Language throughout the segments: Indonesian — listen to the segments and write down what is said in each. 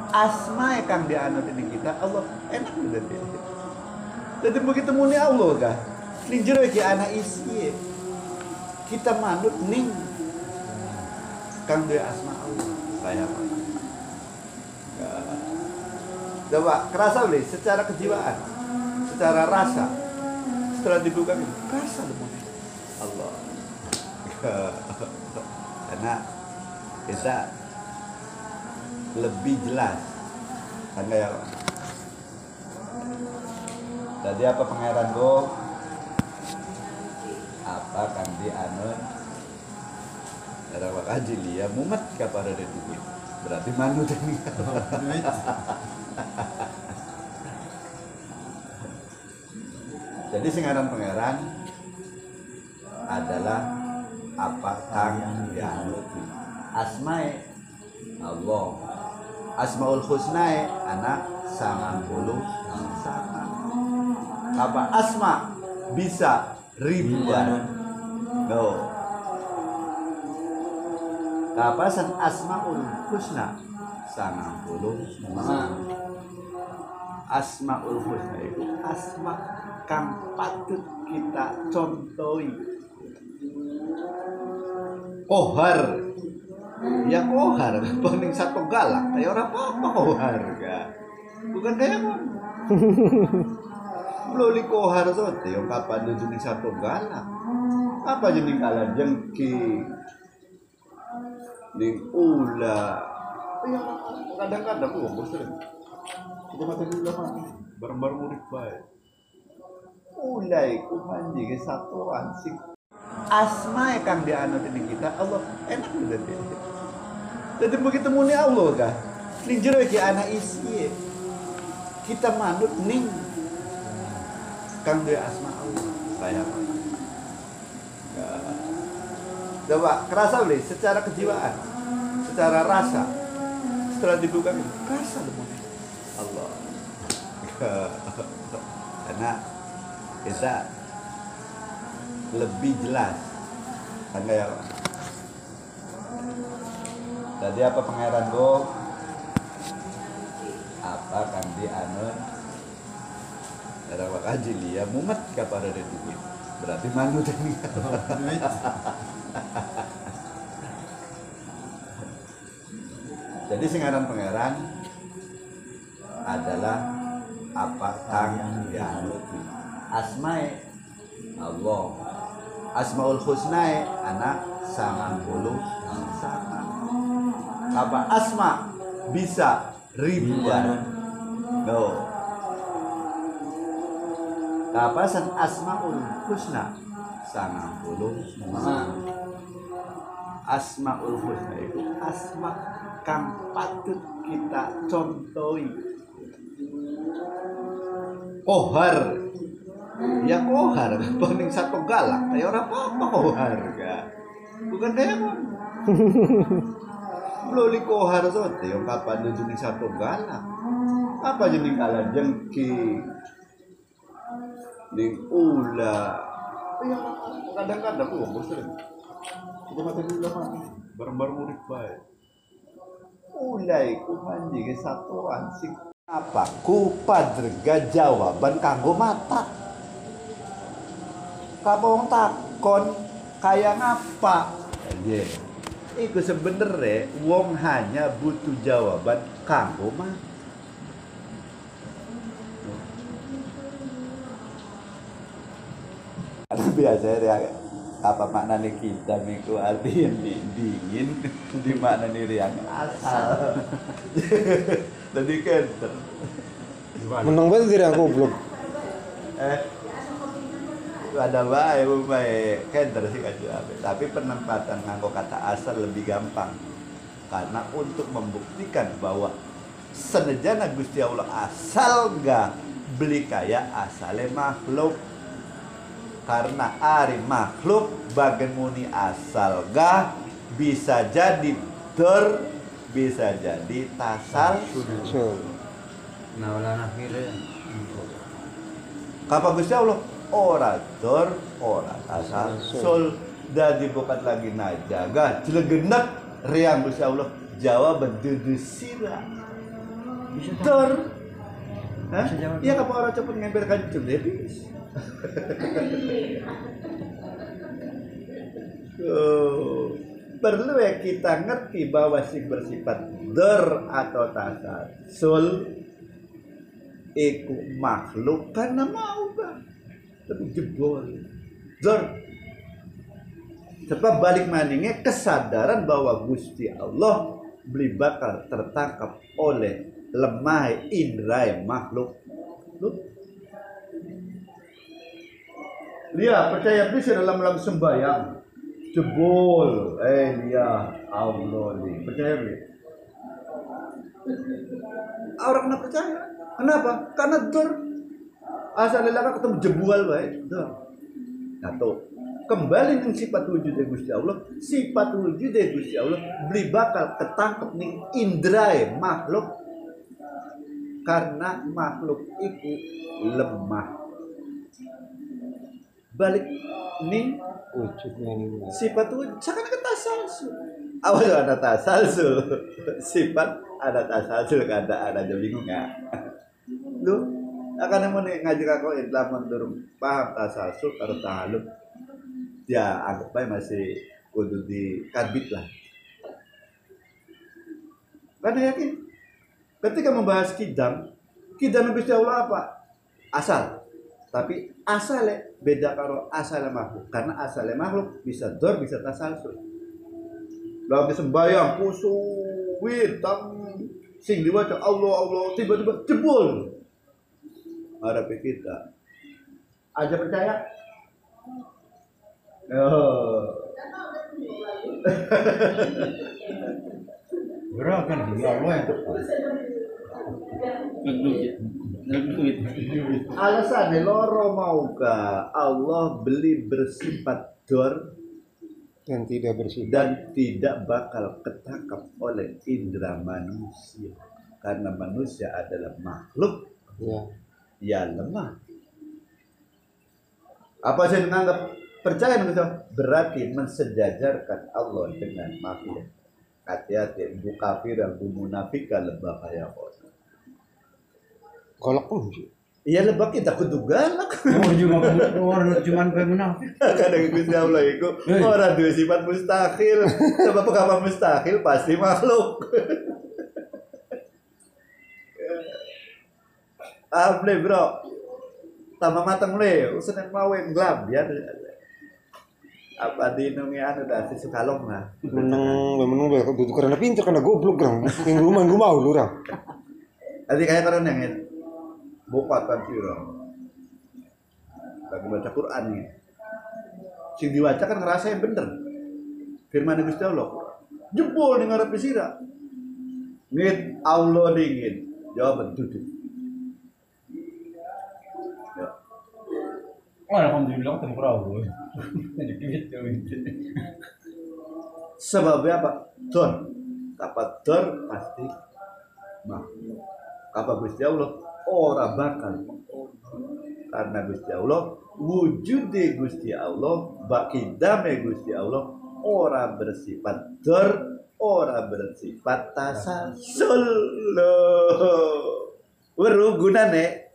asma kang dianut ini kita Allah enak udah deh. Jadi begitu muni Allah kah? Ning jero iki ana isi. Kita manut ning kang dia asma Allah. Kayak apa? Coba kerasa boleh secara kejiwaan, secara rasa. Setelah dibuka gitu, rasa demonya Allah. Karena kita lebih jelas kan kayak tadi apa pangeran go apa kan di anun ada wakaji dia mumet kepada itu berarti manu ini jadi singaran pangeran adalah apa kang dianut asmae Allah Asmaul Husna anak 90 sama. Apa asma bisa ribuan. No. Kapasan Asmaul Husna 90 sama. Asmaul Husna itu asma kang patut kita contohi. Kohar ya kohar, paling satu galak, kayak orang apa kohar ga? Bukan kayak apa? Belum kohar sote, yang kapan dujung satu galak? Apa jadi kalah jengki, ning ula, ya kadang-kadang gua bosan. Kita mati dulu mah, bareng-bareng murid baik. Ulai kumanji ke satuan sih. Asma kang dianut ini kita Allah enak udah deh. Jadi begitu muni Allah kah? Ning jero iki ana isi. Kita manut ning kang dia asma Allah. Kayak apa? Coba kerasa boleh secara kejiwaan, secara rasa. Setelah dibuka gitu, rasa demonya Allah. Karena kita lebih jelas kan kayak tadi apa pangeran go apa kan di anun ada wakaji dia mumet kepada itu berarti manut ini jadi singaran pangeran adalah apa kang dianut asmae Allah Asmaul Husna anak 90 sama. Apa asma bisa ribuan. No. Kapasan Asmaul Husna 90 sama. Asmaul Husna itu asma kang patut kita contohi. Kohar ya kohar, paling satu galak, kayak orang apa kohar ga? Bukan kayak apa? Belum kohar sote, yang kapan dujung satu galak? Apa jadi kalah jengki, ning ula, ya kadang-kadang gua bosan. Kita mati dulu mah, bareng-bareng murid baik. Ulai kumanji ke satuan sih. Apa? Kupadrega jawaban kanggo mata. Kamu takon kayak ngapa? Aja. Iku sebenernya wong hanya butuh jawaban kanggo mah. Biasanya ya apa maknanya kita miku arti yang dingin di maknanya yang asal. Jadi kenter. Menang banget kira aku belum. Ada baik kenter sih tapi penempatan nganggo kata asal lebih gampang karena untuk membuktikan bahwa senejana Gusti Allah asal gak beli kaya asale makhluk karena ari makhluk bagen muni asal gak bisa jadi bisa jadi tasal nah ulah akhirnya kapan Gusti Allah ora asal sul dadi bukan lagi najaga jelegenak riang Gusti Allah jawab berdudusira Dor. Hah? Iya kamu orang cepet ngemper kancung debis. Perlu ya kita ngerti bahwa si bersifat dor atau tasasul iku makhluk karena mau bang, tapi jebol dor. Sebab balik maningnya kesadaran bahwa Gusti Allah beli bakal tertangkap oleh lemah indra makhluk. Dia percaya bisa dalam sembahyang jebol, dia Allah nih percaya nih. Orang nggak percaya. Kenapa? Karena dor asal lelaka ketemu jebol baik dor. Nah tuh kembali dengan sifat wujud Gusti Allah, sifat wujud Gusti Allah beli bakal ketangkep nih indra makhluk karena makhluk itu lemah. Balik nih Wujudnya nih. sifat wujud seakan-akan tasalsul. Awal ada tasalsul, sifat ada tasalsul, keadaan ada bingung ya. Lu akan mau ngaji kau Islam mendorong paham tasalsul atau tahaluk. Ya anggap aja masih kudu di karbit lah. Karena yakin ketika membahas kidam Gusti Allah apa? Asal. Tapi asalnya beda karo asalnya makhluk. Karena asalnya makhluk bisa dor bisa tasalsul. Lalu sembahyang khusyuk witam sing diwaca Allah tiba-tiba jebol. Harap kita aja percaya. Gerakan di Allah yang tepat. Alasannya loro mauga Allah beli bersifat dor Dan tidak bersifat. dan tidak bakal ketangkap oleh indera manusia karena manusia adalah makhluk Ya. lemah. Apa saya menganggap percaya manusia berarti mensejajarkan Allah dengan makhluk. Hati-hati bu kafir dan bu munafika lebah kayak apa? Golok pun sih. Iya lebah kita kudu galak. Orang cuma kayak munafik. Kadang Gusti Allah itu orang dua sifat mustahil. Sebab apa mustahil pasti makhluk. Able bro, tambah matang le, usaha mau yang gelap ya. Apa di Indonesia anu dah si Sukalong lah. Menang itu karena pintar karena goblok orang. Yang rumah gue mau lu orang. Tadi kayak karena yang bopat kan sih orang. Lagi baca Quran nih. Sing diwaca kan ngerasa yang bener. Firman Gusti Allah. Jebol nih ngarep sira. Ngit Allah dingin. Jawaban duduk. Alhamdulillah ketemu perahu. Sebabnya apa? Don. Kapan don pasti makhluk. Kapan Gusti Allah ora bakal karena Gusti Allah wujud Gusti Allah bakidame Gusti Allah ora bersifat dor ora bersifat tasasul gunane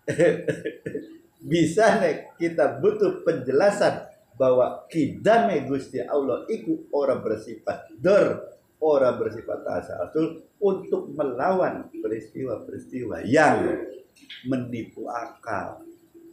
bisa nek kita butuh penjelasan bahwa kidame Gusti Allah itu ora bersifat dor ora bersifat tasasul untuk melawan peristiwa-peristiwa yang menipu akal.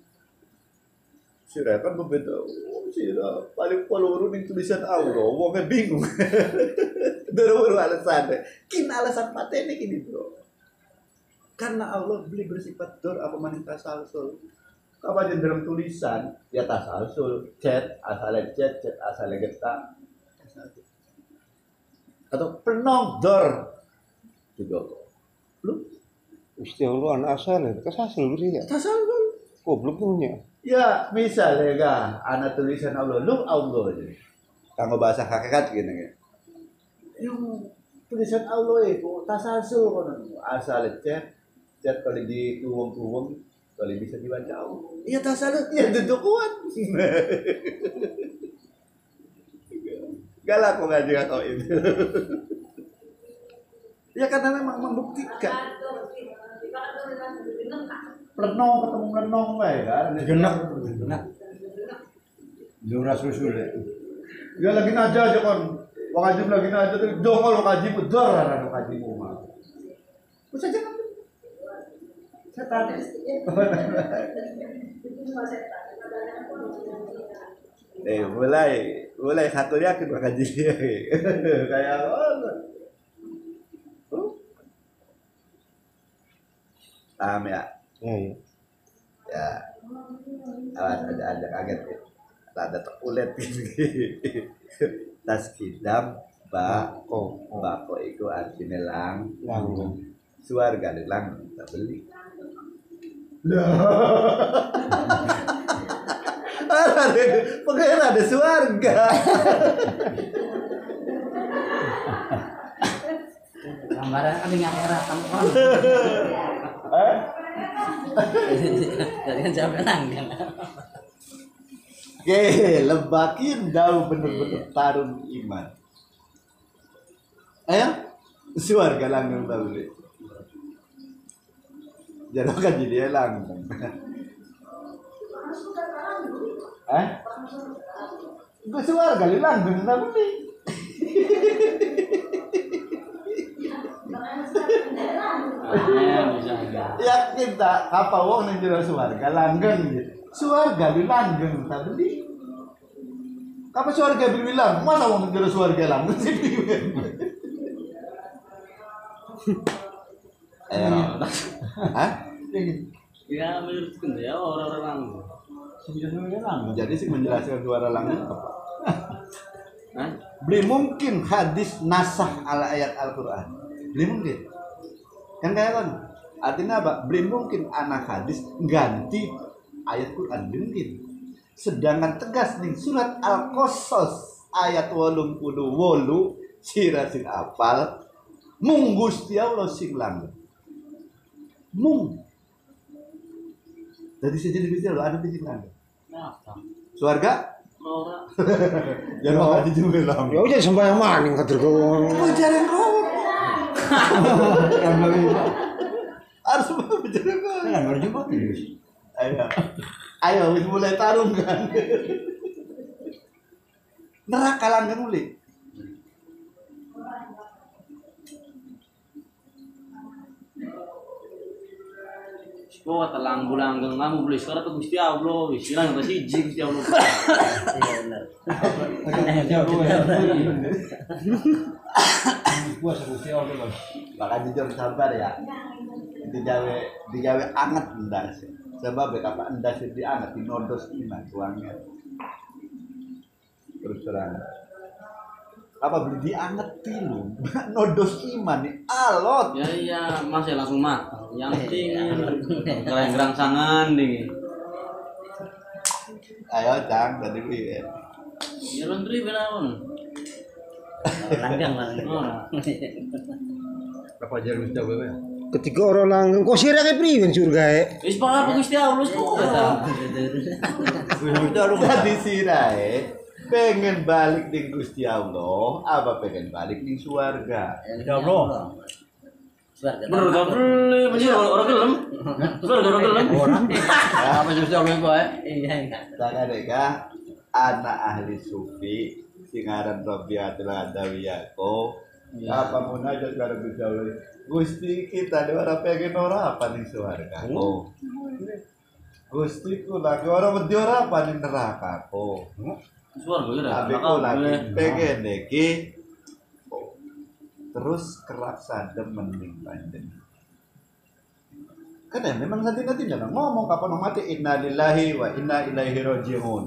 Sira kan berbeda. Sira paling peluru ning tulisan Allah, wong bingung. Doro alasan. Kin alasan patene kini, Bro. Karena Allah beli bersifat dor apa maning tasalsul. Kapan dalam tulisan ya tasalsul, chat asalnya chat asalnya getak. Atau penong dor juga lu Gusti Allah anak asal ya, tasasul sih ya. tasalsul Goblok punya. ya misalnya ga anak tulisan Allah lu Allah aja kanggo bahasa hakikat gini ya yung tulisan Allah itu tasalsul kono asal chat kalau di tuwong kalau bisa dibaca Allah iya tasalsul ya dudukuan galak kok ngaji kau itu Ya karena memang membuktikan. Lenong ketemu lenong wae kan. Genak. Jura susul deh. Ya lagi naja aja kan. Wajib lagi naja tuh dongol kaji bedor ana kaji mah. Wis aja kan. Setan. Mulai satu yakin bakal jadi kayak paham ya? Iya. Ya, awas ada kaget ya. Ada terkulet gitu. Tas kidam bako itu artinya Langgeng. Suarga lang tak beli. Pengen ada suarga. Gambaran kami ngarep tampon. Jadi kan jawab nanggang. Oke, lebakin daun bener-bener tarung iman. Ayo, suarga langgeng tak beli. Jangan kan jadi langgeng. Gue suarga langgeng tak beli. Yakin tak apa wong ning jero swarga langgeng gitu. Swarga di langgeng tak beli. Apa swarga bilang masa wong ning jero swarga langgeng sih. Hah? Ya menurutku ya orang-orang Jadi sih menjelaskan suara langgeng apa? Hah? Beli mungkin hadis nasah ala ayat Al-Qur'an. Beli mungkin. Kan kayak kan artinya apa? Beli mungkin anak hadis ganti ayat Quran mungkin. Sedangkan tegas nih surat Al-Qasas ayat 88 sirasin apal mung Gusti Allah sing langgeng. Mung. Jadi sejadi Gusti Allah ada di sing langgeng. Suarga? Ora. Jangan aja juga lah. Ya udah sembahyang maning kader kau. Oh, jalan roh. Harus bicara kan. Kan harus juga terus. Ayo wis mulai tarung kan. Neraka langgeng mulai. Oh, telang bulanggeng kamu beli sekarang tuh Gusti Allah, wis ilang ke siji Gusti Allah. Iya benar. Gua Gusti Allah bos. Maka jujur sabar ya. Digawe anget endas. Sebab apa endas dianget dinodos iman tuangnya. Terus terang. Apa beli diangetin lu? Nodos iman nih alot. Ya iya, Mas ya langsung matang. Yang dingin. Gerang sangan dingin. Ayo Cang, tadi beli. Ya laundry benaon. Langgang. Apa ajar Gusti Allah ya? Ketika orang langgeng kok sirah kayak priwen surga ya. Wis bakal Gusti Allah tuh eta. Tadi sirai pengen balik di Gusti Allah, apa pengen balik di surga? Ya Allah. Bener gak beli, masih orang gelem. Orang gelem. Orang. Apa Gusti Allah bae? Iya. Jangan deka anak ahli sufi singaran Rabiatul Adawiyako. Apa munajat karo Gusti Allah? Gusti kita orang pengen ora apa ning surga? Oh. Gusti ku lagi orang wedi ora apa ning neraka ko. Suara gue dah. Tapi ku lagi pengen deki. Terus kerak sadem mending panjen. Kan memang nanti jangan ngomong kapan mau mati innalillahi wa inna ilaihi rajiun.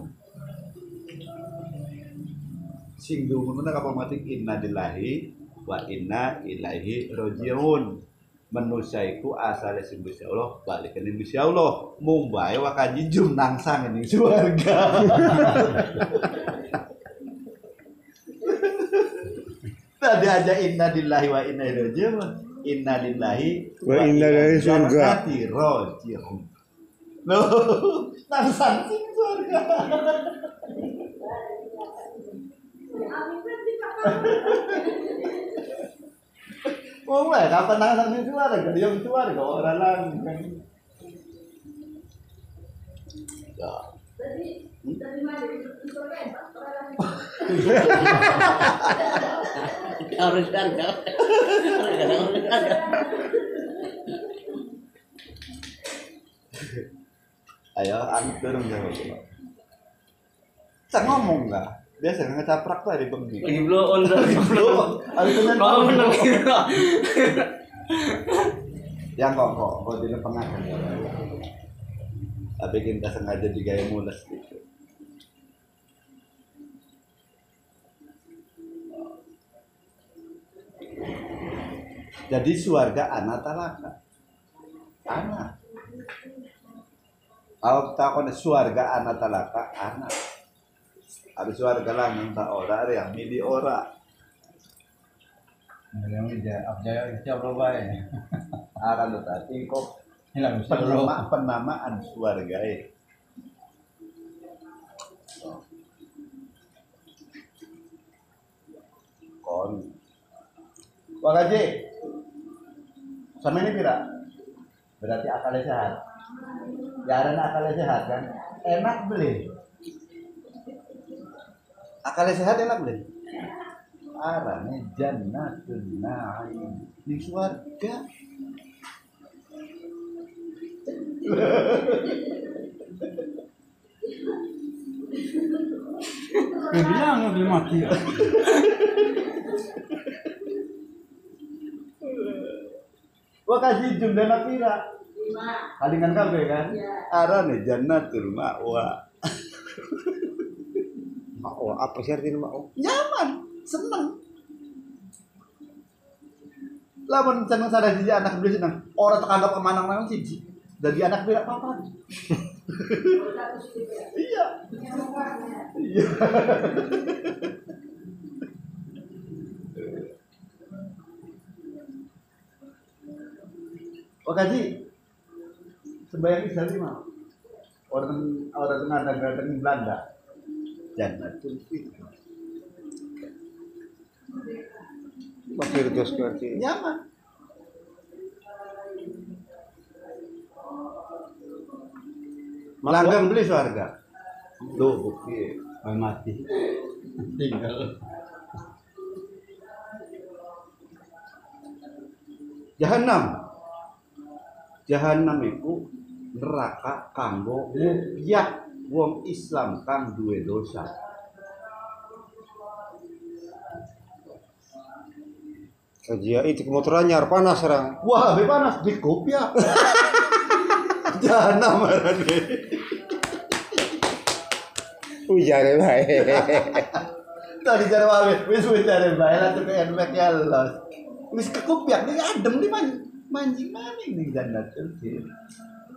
Sing dumun kapan mati innalillahi wa inna ilaihi rajiun. Manusia iku asale sing Gusti Allah balik ning Gusti Allah. Mung bae wakaji jum nangsang ning swarga. Tadi aja inna lillahi wa inna ilaihi rajiun. Inna lillahi Wa inna ilaihi surga. rajiun. Loh, nangsang sing surga. Oh, kapan anak ni keluarga? Yang keluarga orang lain kan. Ya. Harus harga. Ayo, anu dorong jawab coba. Saya ngomong nggak? Biasa ngecaprak tuh ada bengi. Lagi blow on lagi blow. Ada temen Oh, bener gitu. yang kok di tengah kan. Tapi kita sengaja digaya mules gitu. Jadi suarga anak talaka. Anak. Kalau takon suarga anak talaka anak. Ada suarga lang yang tak ora ada yang mili ora. Yang dia abjaya siap lo bae. Akan tetapi kok Hilang siap lo. penamaan suarga kon. Wah gaji. Sama ini pira? Berarti akalnya sehat. Ya ada akalnya sehat kan? Enak beli. Akalnya sehat enak beli. Arane jannatun na'im di surga. Bilang mobil mati ya. Wah kasih jumlah pira? 5. Kalingan kabeh kan? Arane jannatul ma'wa. Mau apa sih artinya mau? Nyaman, seneng. Lamun seneng sadar siji anak beli seneng. Orang terkanggap kemana-mana siji. Jadi anak beli apa-apa. Iya. Iya. Oh kaji, sembahyang Isya di mana? Orang tengah di Belanda. Jannatul Firdaus. Firdaus berarti. Nyaman. Langgang beli surga. Tuh bukti. Mati. Tinggal. Jahanam itu neraka kanggo mukyat wong Islam kang duwe dosa. Kajian itu kemotoran nyar panas sekarang. Wah, lebih panas di kopiah. Jahanam marane. Ujare bae. Tadi jare wae, wis jare bae lah tuh kayak enak ya los. Wis ke kopiah nih adem nih mancing maning nih jannatul firdaus.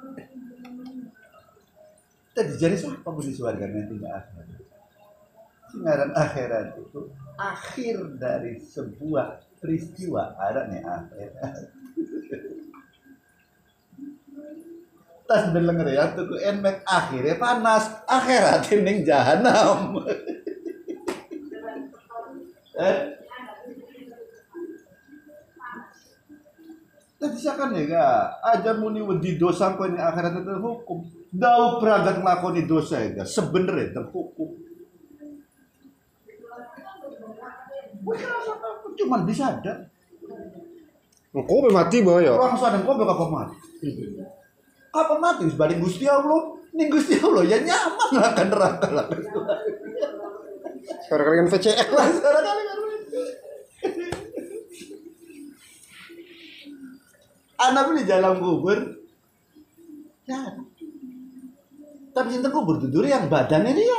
Tadi jare siapa bu di surga nanti enggak akhirat. Singaran akhirat itu akhir dari sebuah peristiwa ada nih akhirat. Tas denger ya tuh enek akhirnya panas akhirat ning jahanam. Tadi siakan ya ga aja muni wedi dosa kau ini akhirat itu hukum. Dau berangkat ngelakoni dosa ya ga sebenarnya terhukum. Cuman bisa ada. Engkau mati bae ya. Orang sadar kau bakal mati. Apa mati sebalik Gusti Allah? Nih Gusti Allah ya nyaman lah kan neraka lah. Sekarang kalian VCX lah. Sekarang kalian anak beli jalan kubur. Ya. Tapi cinta kubur tidur yang badannya dia.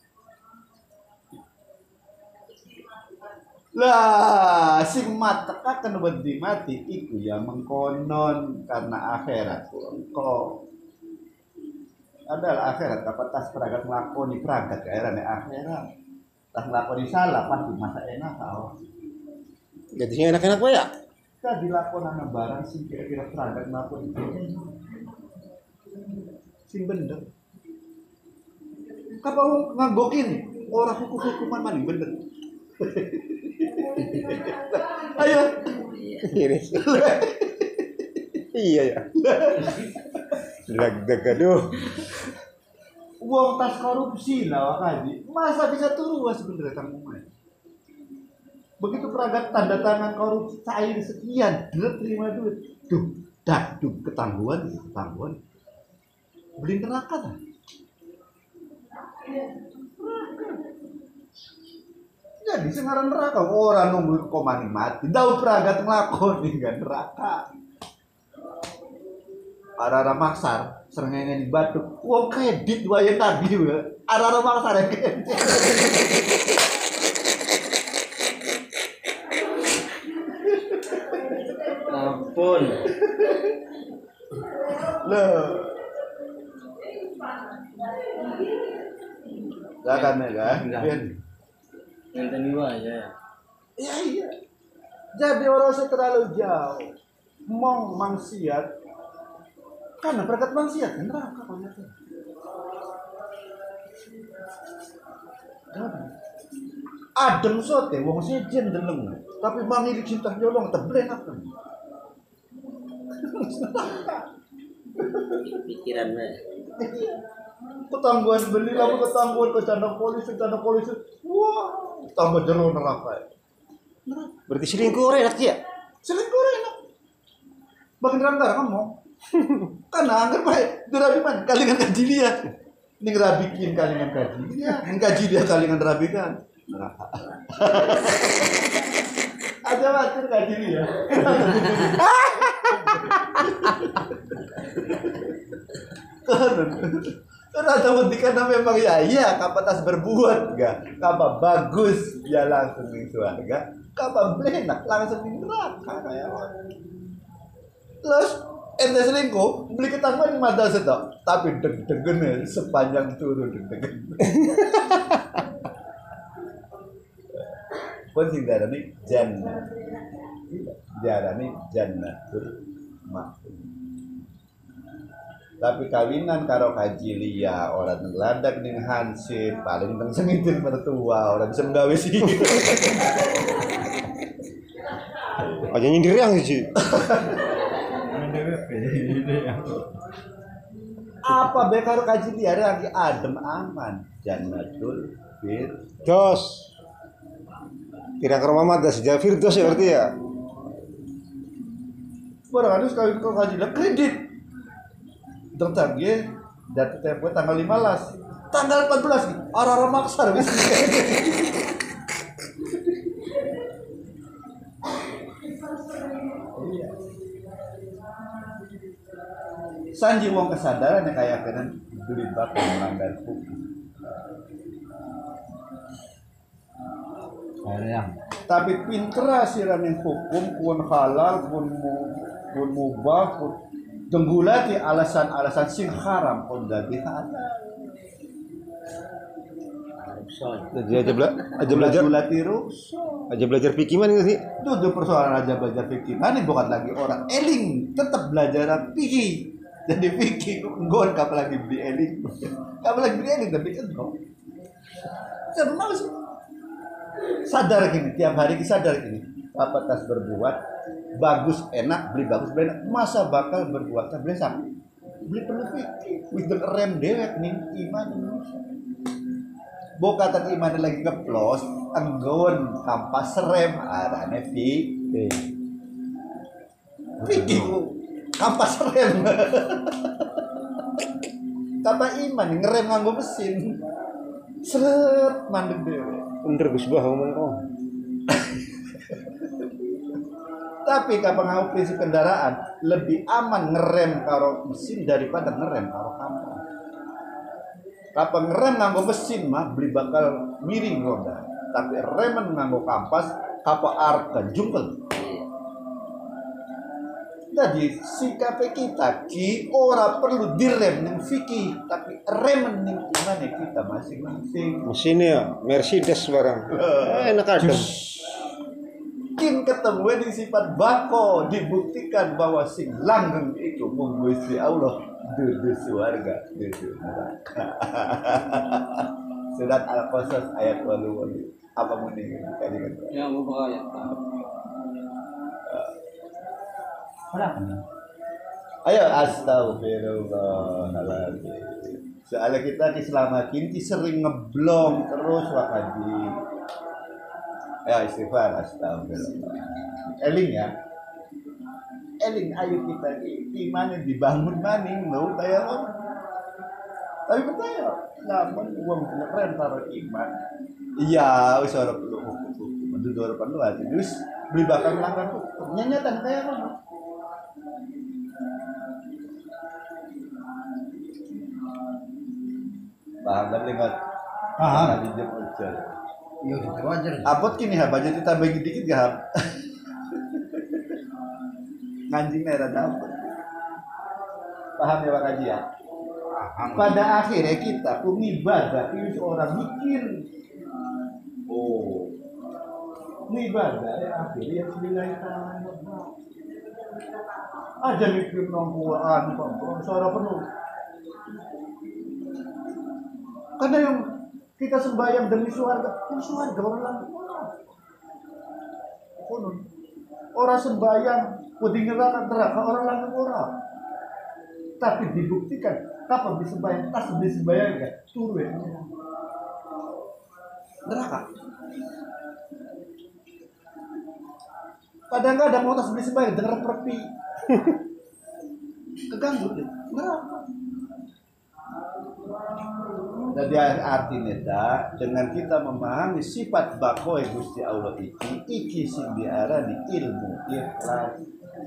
Lah, sing mateka kan wedi mati iku ya mengkonon karena akhirat engko. Adalah akhirat kapan tas peragat nglakoni peragat kairane akhirat. Tas nglakoni salah pasti masa enak tau. Jadinya enak-enak bae ya. Ka dilakonan barang sing kira-kira peragat nglakoni. Sing bener. Kapal nganggokin orang hukum-hukuman maning bener. Ayo. Iris. Iya ya. Lag-lag aduh. Uang tas korupsi lah Haji. Masa bisa turun sebenarnya Kang Umay? Begitu peragat tanda tangan korupsi cair sekian, terima duit. Ketangguhan. Beli neraka lah. Jadi sekarang neraka orang nunggu komani mati. Daun peragat ngelakoni kan neraka. Arah maksar serengenge di batu. Wong kredit wae tadi ya. Arah maksar ya. Ampun. Loh. Jangan ya kan? Yang tadi aja ya. Iya. Jadi orang saya terlalu jauh. Maksiat. Karena berkat maksiat kan neraka ternyata. Adem sote wong sejen deleng. Tapi mangi cinta nyolong tebleng apa? Pikiran mah. Ketangguhan beli lalu ketangguhan ke candang polisi. Wah, tambah jero neraka. Berarti selingkuh enak ya? Selingkuh enak. Bagian rangga kamu. Karena anggap baik, dirabi man, kalingan kaji dia. Ini ngerabikin kalingan kaji dia, ngkaji dia kalingan rabikan. Aja waktu kaji dia. Karena ada karena memang ya kapatas berbuat enggak, kapan bagus ya langsung di surga, kapan benak langsung di neraka kayak. Terus ente selingkuh beli ketangguhan mata setok, tapi deg-degen sepanjang turun deg-degen. Pun sing darani jannah, darani jannatul ma'wa. Tapi kawinan karo kaji liya orang ngeladak ning hansip paling teng sengitin mertua orang bisa nggawe sih. Aja nyindir yang sih. Apa be karo kaji liya lagi adem aman jannatul Jos. Kira ke rumah mata sejak Firdaus ya berarti ya. Barang ada sekali kau kaji liya kredit. Tertag ya, data tempo tanggal 15, tanggal 14 arah maksar bisa. Sanji wong kesadaran yang kayak kena duit bakal melanggar hukum. Tapi pinter siranin hukum pun halal pun mubah pun tenggulati alasan-alasan sing haram pun jadi halal. Aja belajar fikih mana sih? Itu persoalan aja belajar fikih. Mana bukan lagi orang eling tetap belajar fikih. Jadi fikih nggon kapal lagi beli eling. Kapal lagi beli eling tapi kan kok. Sebenarnya sih. Sadar gini, tiap hari kita sadar gini. Apa tas berbuat bagus enak beli bagus beli enak masa bakal berbuat beli sama beli perlu fikir with rem dewek nih iman Indonesia boka kata iman lagi keplos anggon kampas rem arane fikir kampas rem kata iman ngerem nganggo mesin seret mandek dewek bener Gus Bah ngomong kok. Tapi kapan ngau prinsip kendaraan lebih aman ngerem karo mesin daripada ngerem karo kampas. Kapan ngerem nganggo mesin mah beli bakal miring roda. Tapi remen nganggo kampas kapa arep jungkel. Jadi sikap kita ki ora perlu direm ning fikih tapi remen ning imane kita masing-masing. Mesinnya Mercedes barang. Enak adem. Kin ketemu di sifat bako dibuktikan bahwa sing langgeng itu menggusti Allah dudu surga dudu neraka. Surat Al-Qasas ayat 28. Apa mending kali kan? Ya mau ayat. Ayo astagfirullahaladzim. Soalnya kita selama kini sering ngeblong terus wakaji. Ya istighfar astagfirullah. Eling ya. Eling ayo kita iman dibangun maning lo kayak apa? Tapi percaya, namun uang keren taruh iman. Iya, wis ora perlu hukum. Mendu ora perlu aja. Wis beli bakal melanggar hukum. Nyanyatan kayak apa? Paham tapi enggak. Paham. Tadi jam ujar. Iya, itu wajar. Apot kini ha, budget ditambahin dikit gak ha? Nganjing merah dapat. Paham ya Pak Haji ya? Paham. Pada akhirnya kita pun ibadah itu orang mikir. Oh, ibadah ya akhirnya bismillahirrahmanirrahim. Aja mikir Quran kok, suara penuh. Karena yang kita sembahyang demi surga orang konon. Orang sembahyang wedi neraka orang lanang orang. Tapi dibuktikan kapan disembahyang tas disembahyang enggak turun neraka. Kadang-kadang mau tas disembahyang dengar perpi. Keganggu deh. Neraka. Jadi artinya dengan kita memahami sifat bakoe Gusti Allah iki sing diarani ilmu ikhlas.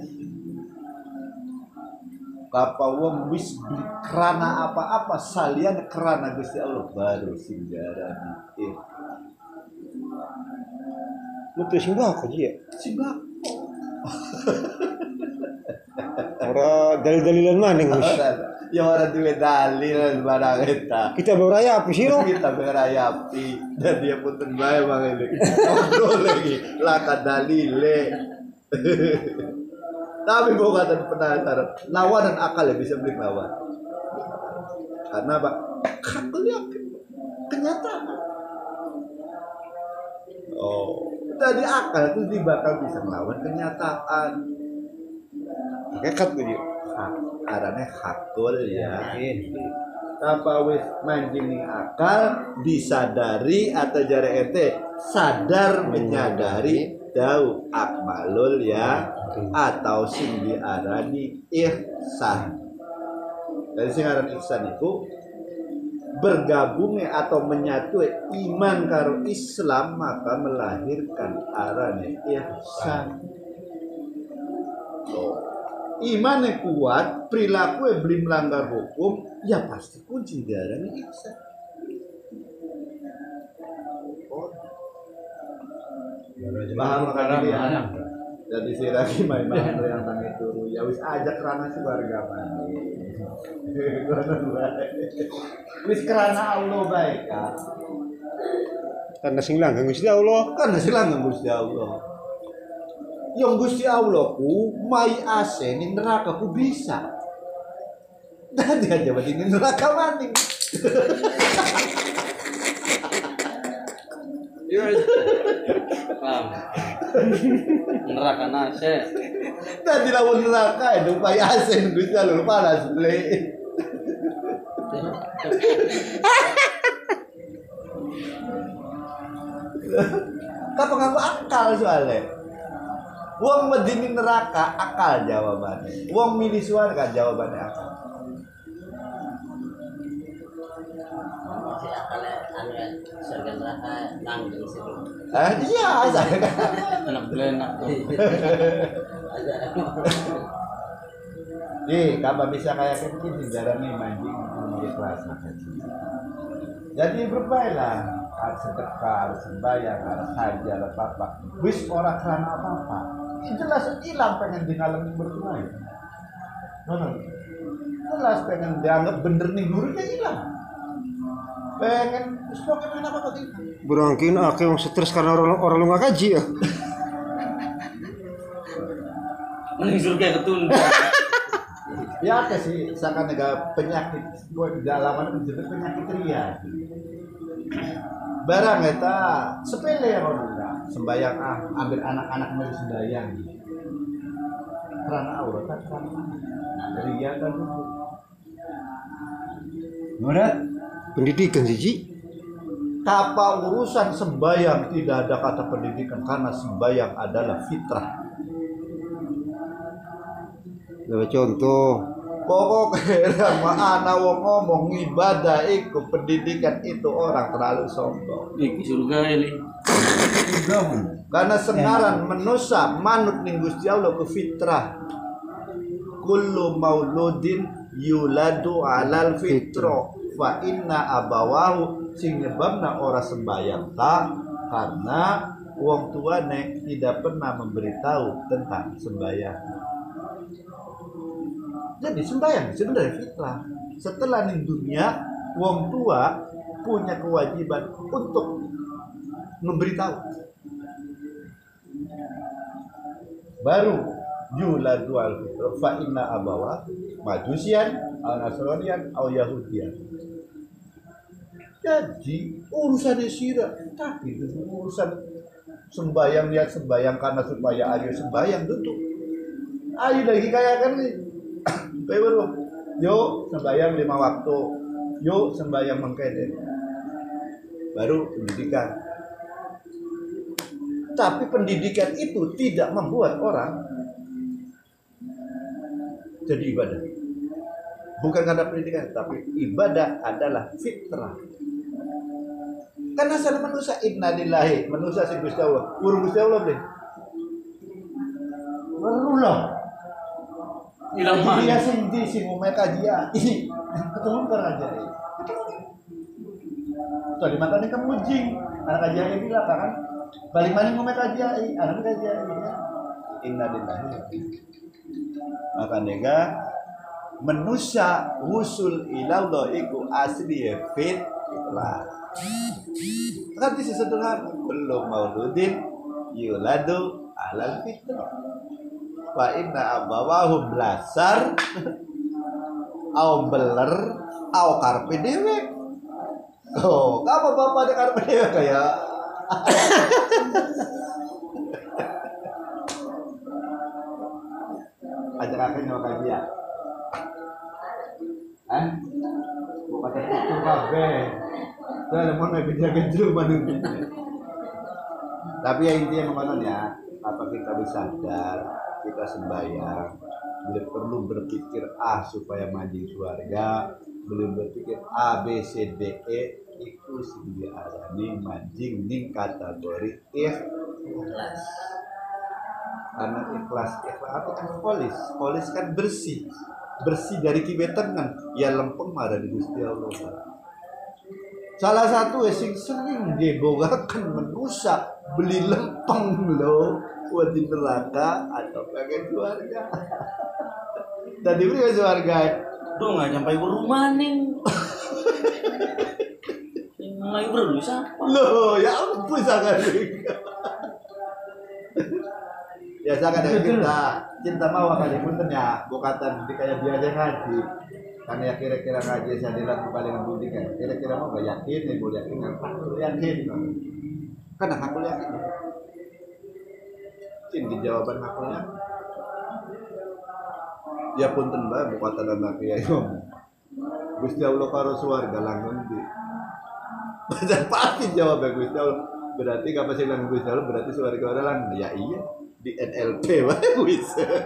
Kapa wong wis beli kerana apa-apa salian kerana Gusti Allah baru sing diarani ikhlas. Lu tuh simbah kok ya? Simbah. Ora dalil-dalilan maning wis. Ya orang duwe dalil barang eta. Kita beraya apa sih lo? Kita berayapi dan dia pun terbaik bang ini. Ngobrol lagi laka dalile. Tapi bukan penasaran. Lawan dan akal ya bisa beli lawan. Karena apa? Akal yakin kenyataan. Oh, jadi akal itu bakal bisa melawan kenyataan. Kekat tuh dia. Arane hakul ya. Apa wis manjing akal disadari atau jare ente sadar menyadari dau akmalul ya atau sing diarani ihsan. Dari sing aran ihsan itu bergabungnya atau menyatu iman karo Islam maka melahirkan arane ihsan. Iman yang kuat, perilaku yang belum melanggar hukum, ya pasti kunci darahnya ihsan. Paham kan ya? Jadi si lagi main-main yang tangi turu, ya wis ajak kerana si warga mandi. Wis kerana Allah baik kan? Karena sing langgeng Gusti Allah. Karena silang Gusti Allah. Yang Gusti Allah ku mai ase ning neraka ku bisa. Dan dia jabat ini neraka maning. Iya. Paham. Neraka nase. Dan dilawan neraka itu mai ase ning Gusti Allah panas ble. Kapa ngaku akal soalnya. Wong medini neraka akal jawabannya. Wong milih surga jawabannya akal. Si akalnya anu surga neraka langgeng situ. Iya, saya kan. Enak belenak tuh. Kapan bisa kayak kecil jarang nih mancing di kelas. Jadi berbaiklah, harus sedekah, harus sembahyang, harus haji, harus apa. Wis orang kerana apa-apa. Jelas hilang pengen dialami bertunai. Jelas pengen dianggap bener nih gurunya hilang. Pengen pokoknya apa gitu. Berangkin akeh yang stres karena orang lu nggak kaji ya. Mending surga ketunda. Ya ada sih, seakan ada penyakit, gue dalaman menjadi penyakit ria. Barang eta sepele ya orang sembayang ambil anak-anak mau sembayang. Karena aurat kan karena ria kan dulu. Mudah. Pendidikan sih Ji. Apa urusan sembayang tidak ada kata pendidikan karena sembayang adalah fitrah. Coba contoh. Pokoknya ana wong ngomong ibadah iku pendidikan itu orang terlalu sombong. Iki surga ini. Karena sengaran manusia manut ning Gusti Allah ke fitrah. Kullu mauludin yuladu alal fitro fa inna abawahu sing nyebabna ora sembayang ta karena wong tuane tidak pernah memberitahu tentang sembayang. Jadi sembahyang sebenarnya fitrah. Setelah di dunia, wong tua punya kewajiban untuk memberitahu. Baru yuladu al-fitra fa inna abawa majusian aw nasranian aw yahudian. Jadi urusan sirah, tapi itu urusan sembahyang, lihat sembahyang karena supaya ayo sembahyang duduk. Ayo lagi kayak kan nih. Baru, yuk sembahyang 5 waktu, yuk sembahyang mengkede, baru pendidikan. Tapi pendidikan itu tidak membuat orang jadi ibadah. Bukan karena pendidikan, tapi ibadah adalah fitrah. Karena asal manusia innalillahi, manusia sing Gusti Allah, urung Gusti Allah beli. Barulah. Ilang man. Dia sendiri sih mau kajian. Ketemu kan kajian. Tadi matanya kamu jing. Anak kajian bilang kan, balik mana mau kajian? Anak kajian. Innalillahi. Maka nega manusia usul ilallah iku asli fitrah. Kan di sederhana belum mauludin yuladu alal fitrah. Wa inna abawahum blasar au beler au karpe dewek. Oh, apa bapak ada karpe dewek kayak ajak akan nyawa kajian. Bukan itu kabe. Saya lemon lagi kerja manung. Tapi ya intinya memang ya, apa kita bisa sadar, kita sembahyang, belum perlu berpikir supaya mandi surga, belum berpikir A B C D E itu sendiri arani manjing ning kategori ikhlas. Karena ikhlas itu kan polis kan bersih dari kibetan ya lempeng marah di Gusti Allah. Salah satu sing sering dibogakan menusa beli lempeng loh buat di neraka atau pengen keluarga. Tadi beri keluarga. Duh nggak sampai ke rumah nih. Mulai berdua siapa? Loh, ya ampun sangat. Ya sangat cinta mau kali punten ya, bukatan di kayak biasa ngaji. Karena ya kira-kira ngaji saya dilakukan paling budi kan. Kira-kira mau gak yakin, ya mau yakin, yakin. Karena aku yakin. Di jawaban akunya ya punten bae bukatan anak ya Gusti Allah karo swarga langgeng di. Dan pasti jawab Gusti Allah. Berarti apa sih langgeng Gusti Allah berarti swarga ora langgeng. Ya iya di NLP wae wis.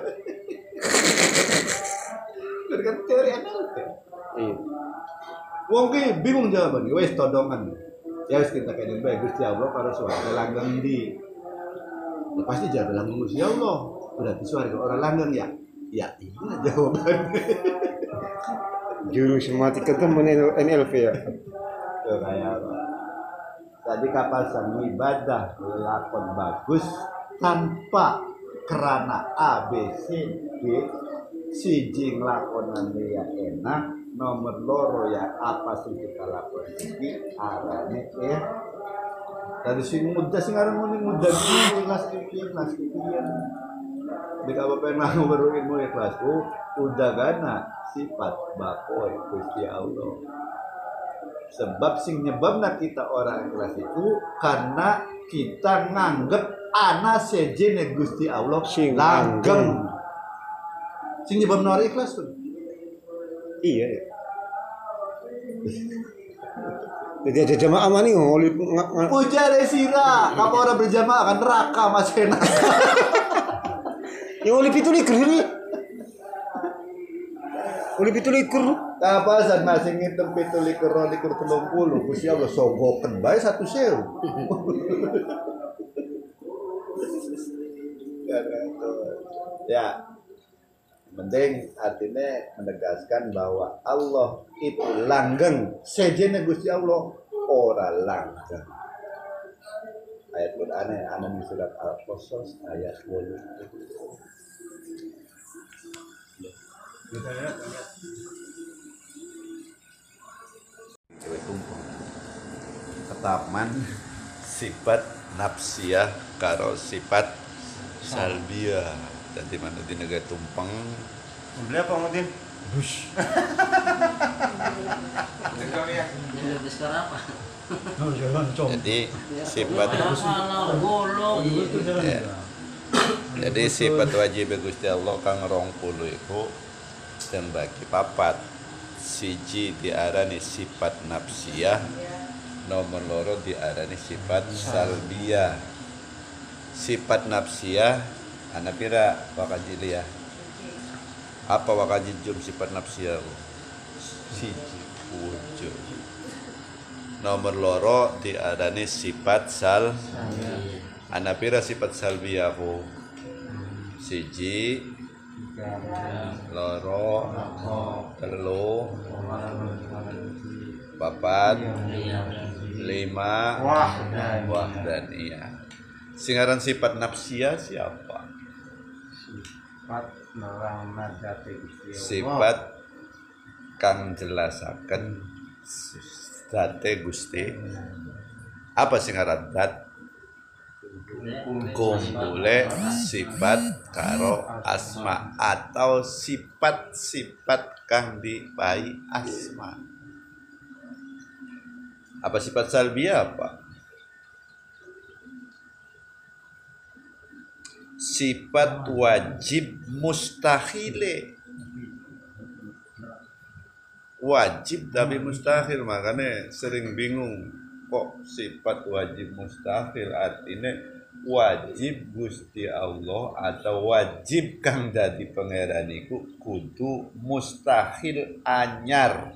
Kan teori NLP. Iya. Wong ki bingung jawaban wis todongan. Ya wis kita kene bae Gusti Allah karo swarga langgeng di. Ya, pasti jawab langgeng Gusti Allah. Berarti swarga orang langgeng ya. Ya iya jawabannya. Juru matematika temen NLP ya. Tuh kayak apa? Tadi kapasan ibadah lakon bagus tanpa kerana A B C D siji nglakonan ya enak nomor loro ya apa sih kita lakon iki arane dari sing muda sing aran muni muda ikhlas ikhlas ikhlas nek apa pernah baru ilmu ikhlas udah gana sifat bapoy Gusti Allah. Sebab sing nyebabna kita orang ikhlas itu karena kita nganggep ana sejene Gusti Allah Sing langgeng. Sing nyebab nori ikhlas tuh. Iya ya. Jadi ada jamaah mana nih ngoli Puja Desira, kamu orang berjamaah akan neraka Mas enak. yang ngoli pitu likur ini. Ngoli pitu likur. Apa saat masih ngitung 17 likur 30, Gusti Allah sogoken bae 1.000. Ya, penting artinya menegaskan bahwa Allah itu langgeng, sejene Gusti Allah ora langgeng. Ayat Quran ana di surat Al-Qasas ayat 8. Cewek tumpeng ketaman sifat nafsiyah karo sifat salbiyah. Jadi mana di negara tumpeng Beli apa Mutin? Ini sekarang apa? jadi sifat Kalau bolong. ya. Jadi sifat wajib Gusti Allah kang 20 iku dan bagi papat siji diarani sifat nafsiyah, nomor loro diarani sifat salbiyah. Sifat nafsiyah ana pira wakajiliyah. Apa wakajijum sifat nafsiyah? Siji wujud. Nomor loro diarani sifat sal. Ana pira sifat salbiyah ku? Siji loro telu papat lima wahdaniyah. Singaran sifat nafsiyah siapa? Sifat kang jelasaken zate Gusti. Apa singaran zat? Kumpule sifat karo asma atau sifat-sifat kang dipai asma. Apa sifat salbiyah apa? Sifat wajib mustahile. Wajib tapi mustahil, makanya sering bingung kok sifat wajib mustahil, artinya wajib Gusti Allah atau wajib kang dadi pangeran iku kudu mustahil anyar.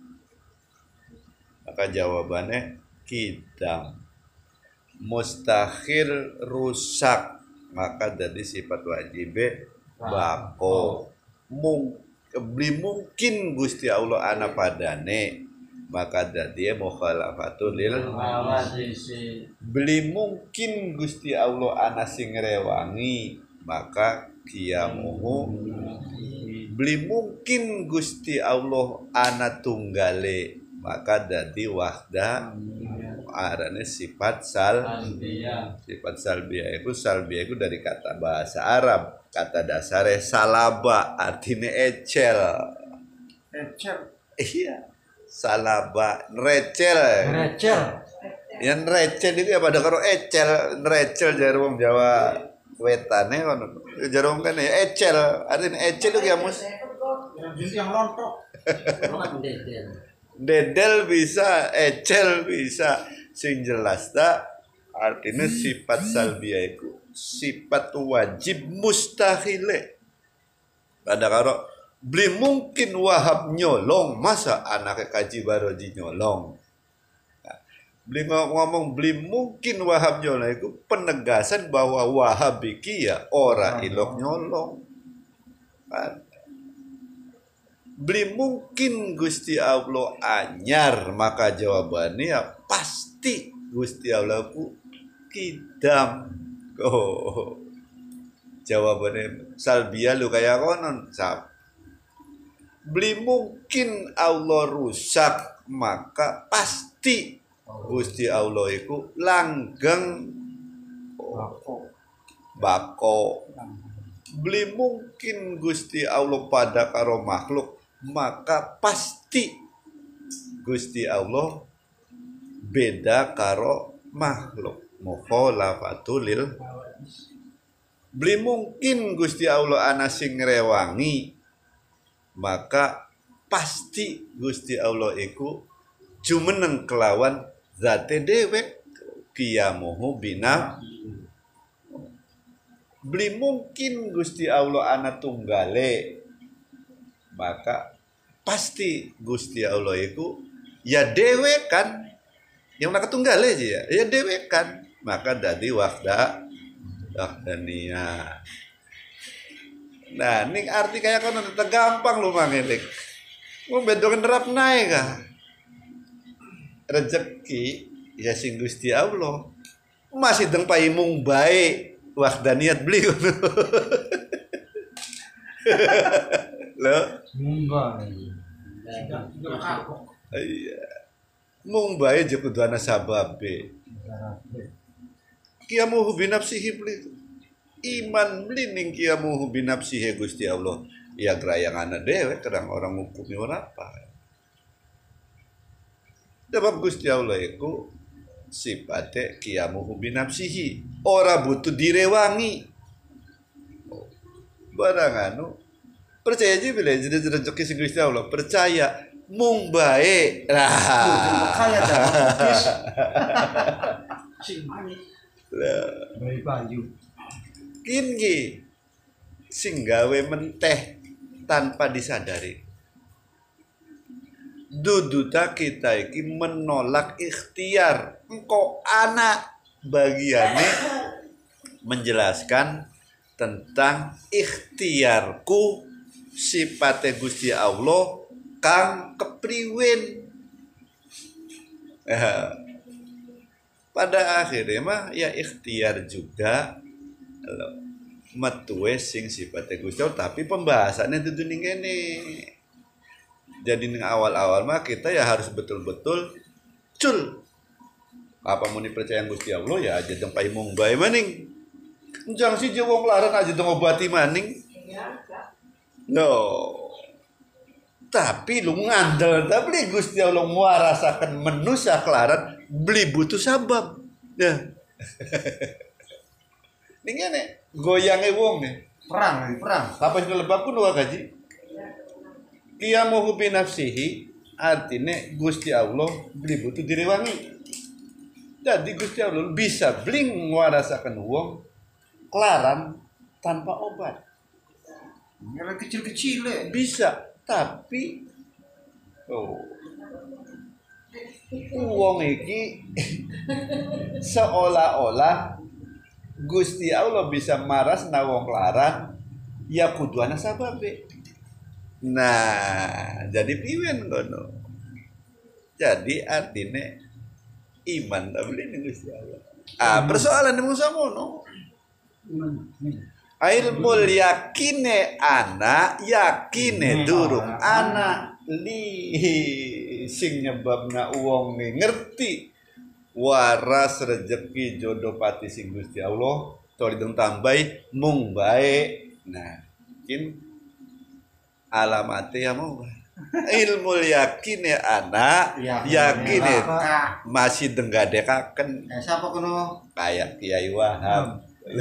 Maka jawabannya kidam. Mustahil rusak, maka jadi sifat wajib bako. Beli mungkin Gusti Allah ana padane, maka jadi mukhalafatul lil. Beli mungkin Gusti Allah ana sing rewangi, maka kiamuhu. Beli mungkin Gusti Allah ana tunggale, maka jadi wahda. Arane sifat salbiyah. Sifat salbiyah itu dari kata bahasa Arab. Kata dasarnya salaba, artinya ecel. Iya. Salaba, recel. Yang recel itu ya pada karo ecel, recel jare wong Jawa wetane ngono. Jare wong kene ecel, artinya ecel itu ya mus. Yang rontok. Dedel bisa, ecel bisa. Sing jelas tak artinya sifat salbiyah itu sifat wajib mustahile. Pada karo beli mungkin Wahab nyolong, masa anaknya kaji baroji nyolong. Nah, beli ngomong beli mungkin Wahab nyolong itu penegasan bahwa Wahab iki ya ora ilok nyolong. Kan? Beli mungkin Gusti Allah anyar, maka jawabannya ya pasti Gusti Allah ku kidam. Oh, jawabannya salbiyah lu kayak konon sab. Beli mungkin Allah rusak, maka pasti Gusti Allah itu langgeng bako. Beli mungkin Gusti Allah pada karo makhluk, maka pasti Gusti Allah beda karo makhluk. Mukhalafatul lil. Beli mungkin Gusti Allah ana sing ngrewangi, maka pasti Gusti Allah iku jumeneng kelawan zate dewek qiyamuhu bina. Beli mungkin Gusti Allah ana tunggale, maka pasti Gusti Allah iku ya dewek kan, yang nak tunggale aja ya dewek kan, maka dadi wahdaniyah. Nah, ini arti kayak kan udah gampang lu mangelik. Mau bedokan derap naik kah? Rezeki ya sing Gusti Allah. Masih deng paimung baik wahdaniyat beli. Lo? Iya. Mung baik je kudu ana sababe. Qiyamuhu binafsihi beli. Iman beli ning qiyamuhu binafsihi Gusti Allah. Ya gerayanganna dewe kadang orang ngukumi ora apa. Sebab Gusti Allah iku sifate qiyamuhu binafsihi, ora butuh direwangi. Barang anu percaya aja bila jadi rezeki sing Gusti Allah, percaya mung bae. Lah. Kaya dah. Bayi baju. Kini sing gawe menteh tanpa disadari. Duduta kita iki menolak ikhtiar. Engkau anak bagiannya menjelaskan tentang ikhtiarku sifatnya Gusti Allah kang kepriwen. Pada akhirnya mah ya ikhtiar juga metuwe sing sifatnya Gusti Allah, tapi pembahasannya itu ning kene. Jadi ning awal-awal mah kita ya harus betul-betul cul. Apa muni percaya Gusti Allah ya aja teng paimung bae maning. Jangan si wong laran aja teng obati maning. No. Tapi lu ngandel tapi Gusti Allah ngwarasaken manusia kelaran beli butuh sabab. Ya. Ning ngene goyange wong nih. Perang. Apa sing lebab pun gaji. Qiyamuhu binafsihi artinya Gusti Allah beli butuh direwangi. Jadi Gusti Allah bisa bling ngwarasaken wong kelaran tanpa obat. Yang kecil-kecil Bisa, tapi wong iki seolah-olah Gusti Allah bisa maras na wong kelaran ya kudu ana sababe. Nah, jadi piwen kono. Jadi artinya iman tabli ning Gusti Allah. Persoalan mung samono. Ilmul yakine ana, yakine durung ana li sing nyebabna wong ngerti waras rezeki jodoh pati sing Gusti Allah to dideng tambahi mung bae. Nah, kin alamatnya mau ilmu yakine anak yakine masih denggadekaken siapa kuno kayak Kiai Wahab.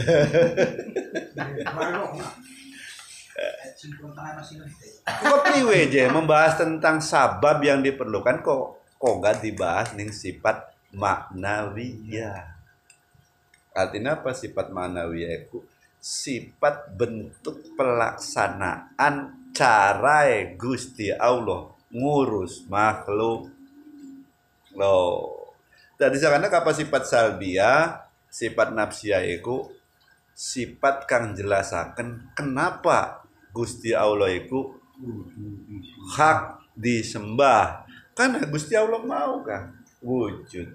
Kok priwe je membahas tentang sabab yang diperlukan kok gak dibahas ning sifat maknawiyah. Artinya apa sifat maknawiyah itu? Sifat bentuk pelaksanaan cara Gusti Allah ngurus makhluk. Loh. Jadi sekarang apa sifat salbiyah, sifat nafsiyah itu sifat kang jelasaken kenapa Gusti Allah itu hak disembah. Karena Gusti Allah mau kan wujud.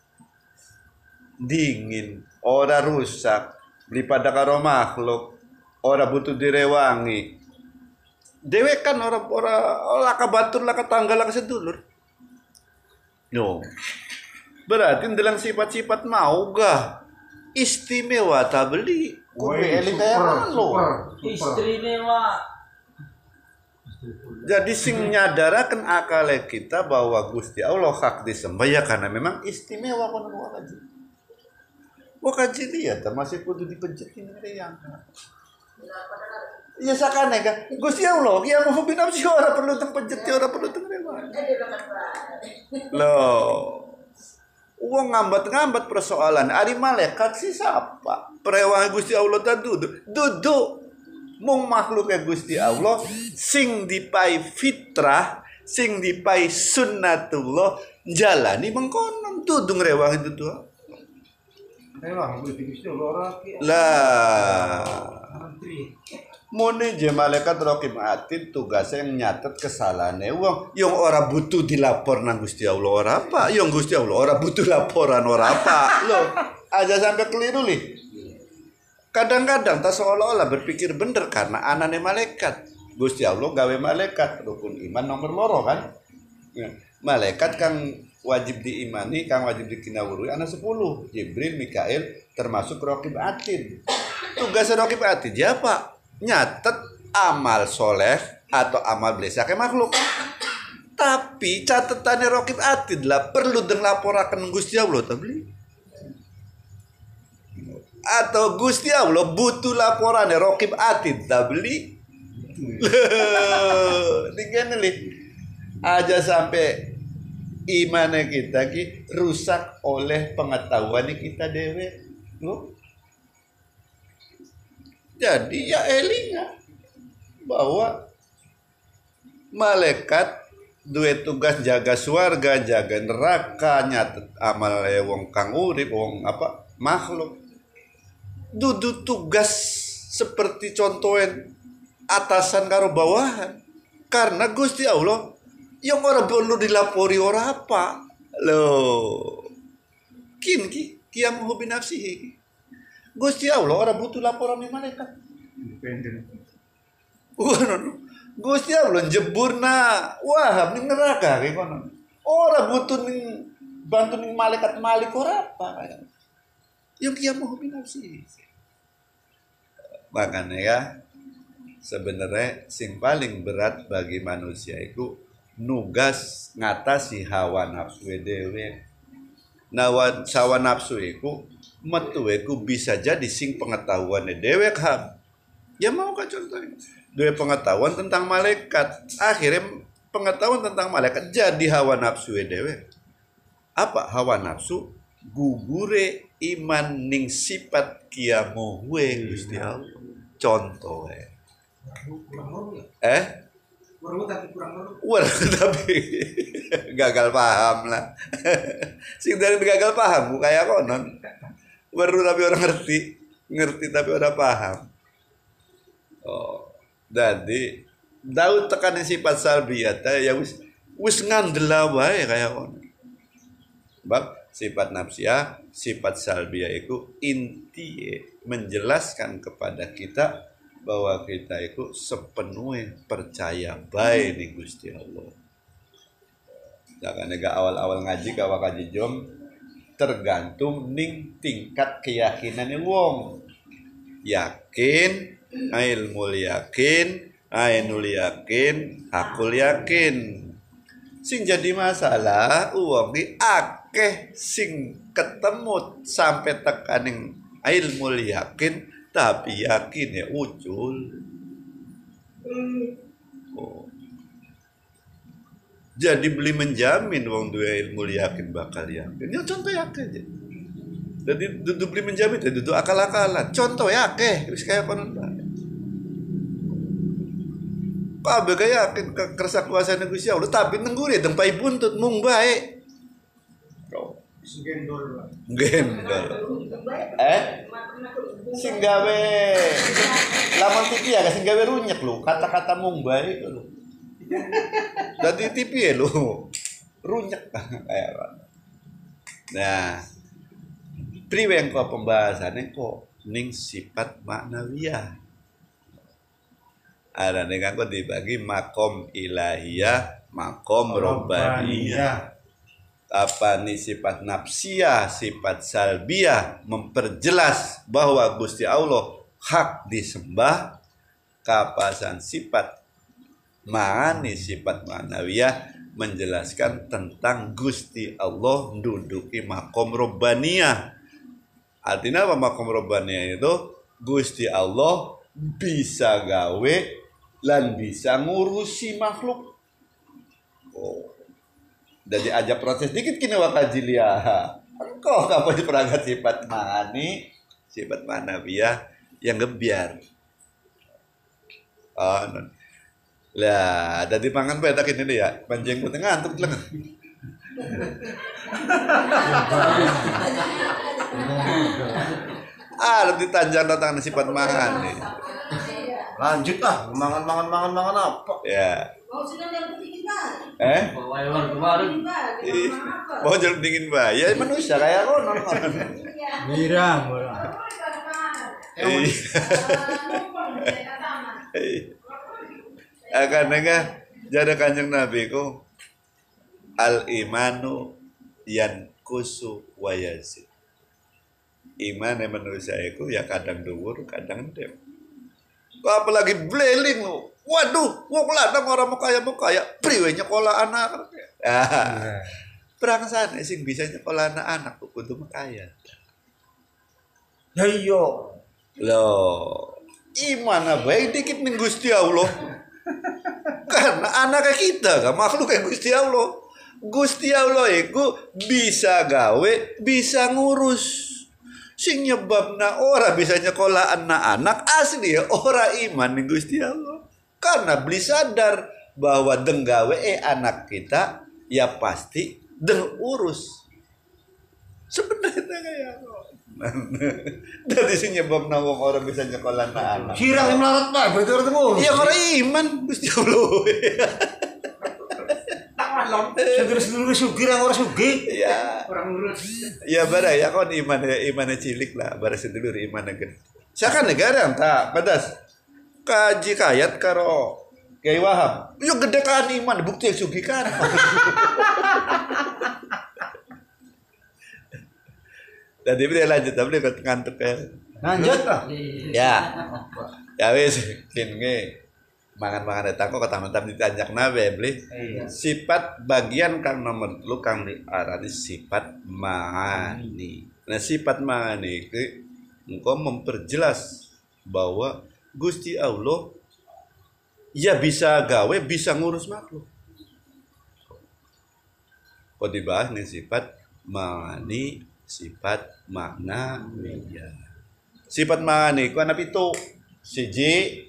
Dingin, ora rusak, daripada karo makhluk, ora butuh direwangi. Dewe kan ora laka batur laka tanggal laka sedulur. No. Berarti dalam sifat-sifat mau gah istimewa tabeli. Kuwi eling kaya lo. Istimewa. Jadi sing nyadaraken akale kita bahwa Gusti Allah hak disembah ya karena memang istimewa kono aja. kaji lihat, masih kudu dipencetin yang. Iya sakane kan. Gusti Allah, ya mau binafsi ora perlu tempenjeti, ora perlu temrewa. Loh. Uang ngambat-ngambat persoalan. Ari malaikat si siapa? Perewah Gusti Allah tak duduk. Mung makhluk Gusti Allah sing dipai fitrah, sing dipai sunnatullah jalani mengkonon dudung rewah itu tuh. Rewah Gusti Allah ora Lah. Mune je malaikat raqib atid tugasnya yang nyatet kesalahannya wong yang ora butuh dilapor nang Gusti Allah ora apa yang Gusti Allah ora butuh laporan ora apa loh aja sampai keliru nih kadang-kadang tak seolah-olah berpikir bener karena anane malaikat Gusti Allah gawe malaikat rukun iman nomor loro kan ya. Malaikat kang wajib diimani kang wajib dikinawuri ana 10 Jibril Mikail termasuk raqib atid tugas raqib atid ya Pak nyatet amal soleh atau amal blesake makhluk tapi catatannya raqib atid lah perlu den laporaken Gusti Allah tabli atau Gusti Allah butuh laporannya raqib atid tabli digene li aja sampai iman kita ki rusak oleh pengetahuan kita dewe jadi ya elinga bahwa malaikat duwe tugas jaga swarga, jaga neraka, nyatet amal wong kang urip, wong apa makhluk. Dudu tugas seperti contohen atasan karo bawahan. Karena Gusti Allah yang ora perlu dilapori ora apa. Loh. Qiyam bi nafsihi. Gusti Allah ora butuh laporan dari malaikat. independen. Gusti Allah jeburna wah ning neraka kayak kono. Ora butuh ning bantu ning malaikat malik ora apa kayak. Yang kia mau binafsi. Makanya ya sebenarnya sing paling berat bagi manusia itu nugas ngatasi hawa nafsu dhewe. Hawa nafsu iku metu iku bisa jadi sing pengetahuan dhewe kan. Ya mau kan contohnya. Dua pengetahuan tentang malaikat. Akhirnya pengetahuan tentang malaikat jadi hawa nafsu dhewe. Apa hawa nafsu? Gugure iman ning sifat kiamu Gusti Allah. Contoh tapi gagal paham lah. Sing dari gagal paham kayak konon. Baru tapi orang ngerti tapi orang paham. Oh, jadi Daud tekanin sifat salbiyah ya wis ngandela wae kayak konon. Bab sifat nafsiyah, sifat salbiyah itu inti menjelaskan kepada kita bahwa kita itu sepenuhnya percaya baik nih Gusti Allah. Jangan nega awal-awal ngaji kawa kaji jom tergantung ning tingkat keyakinannya wong. Yakin, ilmu yakin, ainul yakin, hakul yakin. Sing jadi masalah uang di akeh sing ketemu sampai tekaning ilmu yakin tapi yakin ya ucul. Oh. Jadi beli menjamin wong dua ilmu yakin bakal yakin. Ya contoh yakin aja. Jadi duduk beli menjamin ya duduk akal-akalan. Contoh yakin wis kayak konon bae. Kabeh yakin kersa kuasa Gusti Allah tapi nengguri tempai buntut mung bae. Gendol. Sing gawe lamun TV ya sing gawe runyek lu kata-kata mung bae itu lu. Dadi TV ya lu runyek kayak apa. Nah, priwe engko pembahasannya kok ning sifat maknawiyah. Ada ning kok dibagi makom ilahiyah, makom robbaniyah. Apa nih sifat nafsiyah, sifat salbiyah memperjelas bahwa Gusti Allah hak disembah. Kapasan sifat ma'ani sifat ma'nawiyah menjelaskan tentang Gusti Allah menduduki makom robbaniyah. Artinya apa makom robbani itu Gusti Allah bisa gawe lan bisa ngurusi makhluk. Oh. Jadi aja proses dikit kini wakajilia. Engkau kapan diperagat sifat mani, sifat manawiyah yang gebiar. Oh, non. Lah, dari pangan petak ini ya, panjang putih ngantuk lengan. Lebih tanjang datang sifat mangan nih. Lanjut ah, mangan apa? Ya. Bawa kemarin. Mau jeruk dingin bah, ya manusia kayak konon. Mirang. Karena jadi kanjeng Nabi ku al imanu yan kusu wayazid. Iman yang manusia itu ya kadang dhuwur, kadang ndem. Apalagi beleling lu. Waduh, wong lanang orang mau kaya, priwe nyekolah anak. Perang sana sing bisa nyekolah anak kudu kaya. Ya iya. Loh, iman baik dikit ning Gusti Allah. Karena anak kita kan makhluk kayak Gusti Allah. Gusti Allah itu bisa gawe, bisa ngurus. Sing nyebabna ora bisa nyekolah anak-anak asli ya ora iman ning Gusti Allah. Karena beli sadar bahwa denggawe anak kita ya pasti deng urus. Sebenarnya kayak dari sini nyebabna wong orang bisa nyekolah anak. Kirang yang melarat pak, berarti orang tengok. Ya ora iman Gusti Allah. Sedulur sugih orang sugih. Ya. Orang urus. Ya bara ya kon imannya cilik lah, bara sedulur imannya gede. Sakan negara tak pedas. Kaji kayat karo Kiai Wahab. Yo gede kan iman bukti yang sugih kan. Jadi dia lanjut tapi ngantuk ya. Lanjut ah. Ya. Ya wis kene mangan-mangan datang kok taman-taman ditanjak nabe beli. Sifat bagian kang nomor lu kang diarani sifat ma'ani. Nah sifat ma'ani itu engkau memperjelas bahwa Gusti Allah ya bisa gawe, bisa ngurus makhluk. Kok dibahas nih sifat ma'ani, sifat makna ya. Sifat ma'ani ku ana pitu. Siji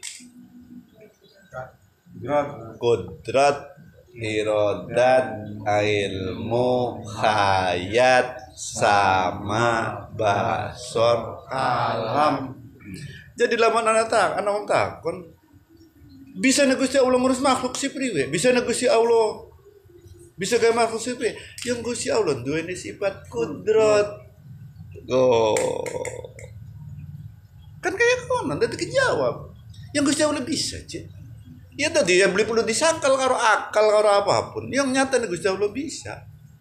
Kudrat, irodat, ilmu, hayat, sama, basor, alam. Jadi lamun anak takon bisa negusi Allah ngurus makhluk si priwe, bisa negusi Allah bisa gaya makhluk si priwe. Yang Gusti Allah duweni sifat kudrat. Oh. Kan kayak konon tadi kejawab. Yang Gusti Allah bisa, Cik. Ya tadi yang beli perlu disangkal karo akal karo apapun. Yang nyata nih Gusti Allah bisa.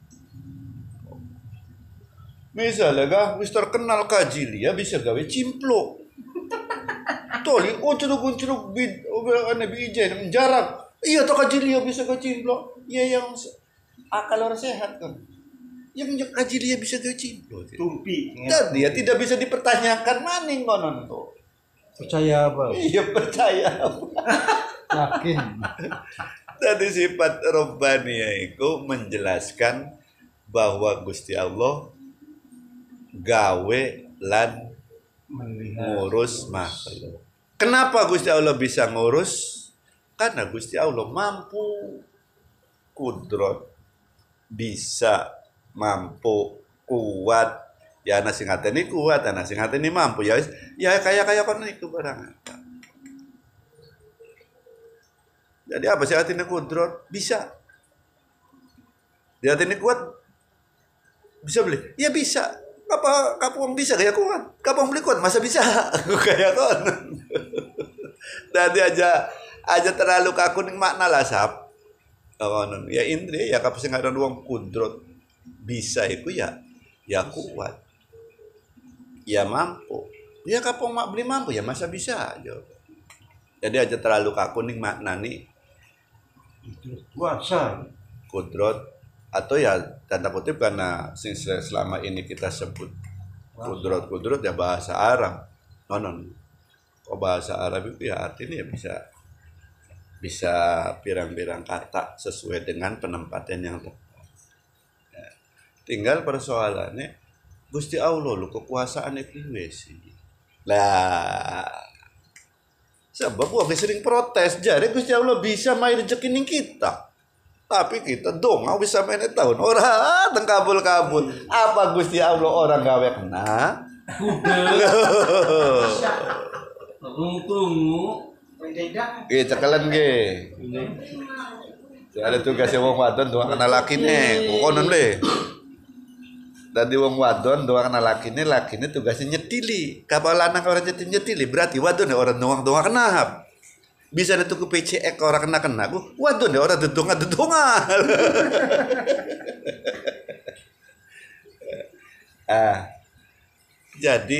Misalnya kah, wis terkenal kajilia bisa gawe cimplo. Toli, curug bid, ane bijen jarak. Iya toh kajilia bisa gawe cimplo. Iya yang akal orang sehat kan. Yang kajilia bisa gawe cimplo. Tumpi. Tadi ya tidak bisa dipertanyakan maning konon tuh. Percaya apa? Iya percaya. Yakin. Tadi sifat Robbaniyah itu menjelaskan bahwa Gusti Allah gawe lan ngurus makhluk. Kenapa Gusti Allah bisa ngurus? Karena Gusti Allah mampu kudrot, bisa, mampu, kuat. Ya ana sing ngateni kuat, ana sing ngateni mampu ya kaya kono iku barang. Jadi apa sih hatinya kudrot? Bisa. Dia hatinya kuat bisa beli? Ya bisa. Kapung bisa kayak kuat. Kapung beli kuat masa bisa? Kayak kon. Tadi aja terlalu kaku ning makna lah sap. Konon. Ya indri ya kapung sing ada wong kudrot bisa iku ya kuat. Ya mampu. Ya kapung mak beli mampu ya masa bisa aja. Jadi aja terlalu kaku ning makna nih Kuasa. kudrot atau ya tanda kutip karena selama ini kita sebut Kudrot ya bahasa Arab. Non. Kok bahasa Arab itu ya artinya ya bisa pirang-pirang kata sesuai dengan penempatan yang tepat. Ya. Tinggal persoalannya Gusti Allah lu kekuasaan piye sih. Lah sebab gua sering protes jadi Gusti Allah bisa main rezeki ning kita. Tapi kita dong bisa main tahun orang kabul-kabul. Apa Gusti Allah orang gawe kena? Tunggu. Cekalan ge. Ada tugasnya wong wadon doang kena lakine. Konon le. Dadi wong wadon doang kena lakine tugasnya nyetili. Kapal lanang orang nyetili berarti wadon orang doang kena. Bisa ada tuku PCX orang kena ku. Wadon orang dedonga. Jadi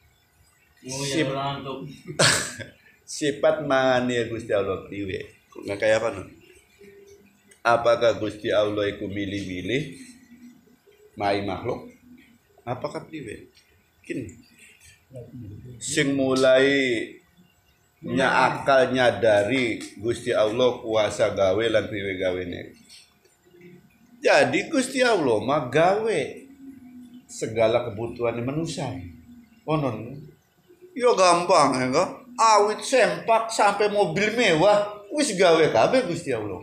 sifat mania Gusti Allah priwe. Nggak kayak apa no? Apakah Gusti Allah iku milih-milih mai makhluk? Apakah priwe? Kini sing mulai akal nyadari Gusti Allah kuasa gawe lan priwe gawene. Jadi Gusti Allah mah gawe segala kebutuhan manusia. Konon yo gampang ya kok. Awit sempak sampai mobil mewah wis gawe kabeh Gusti Allah.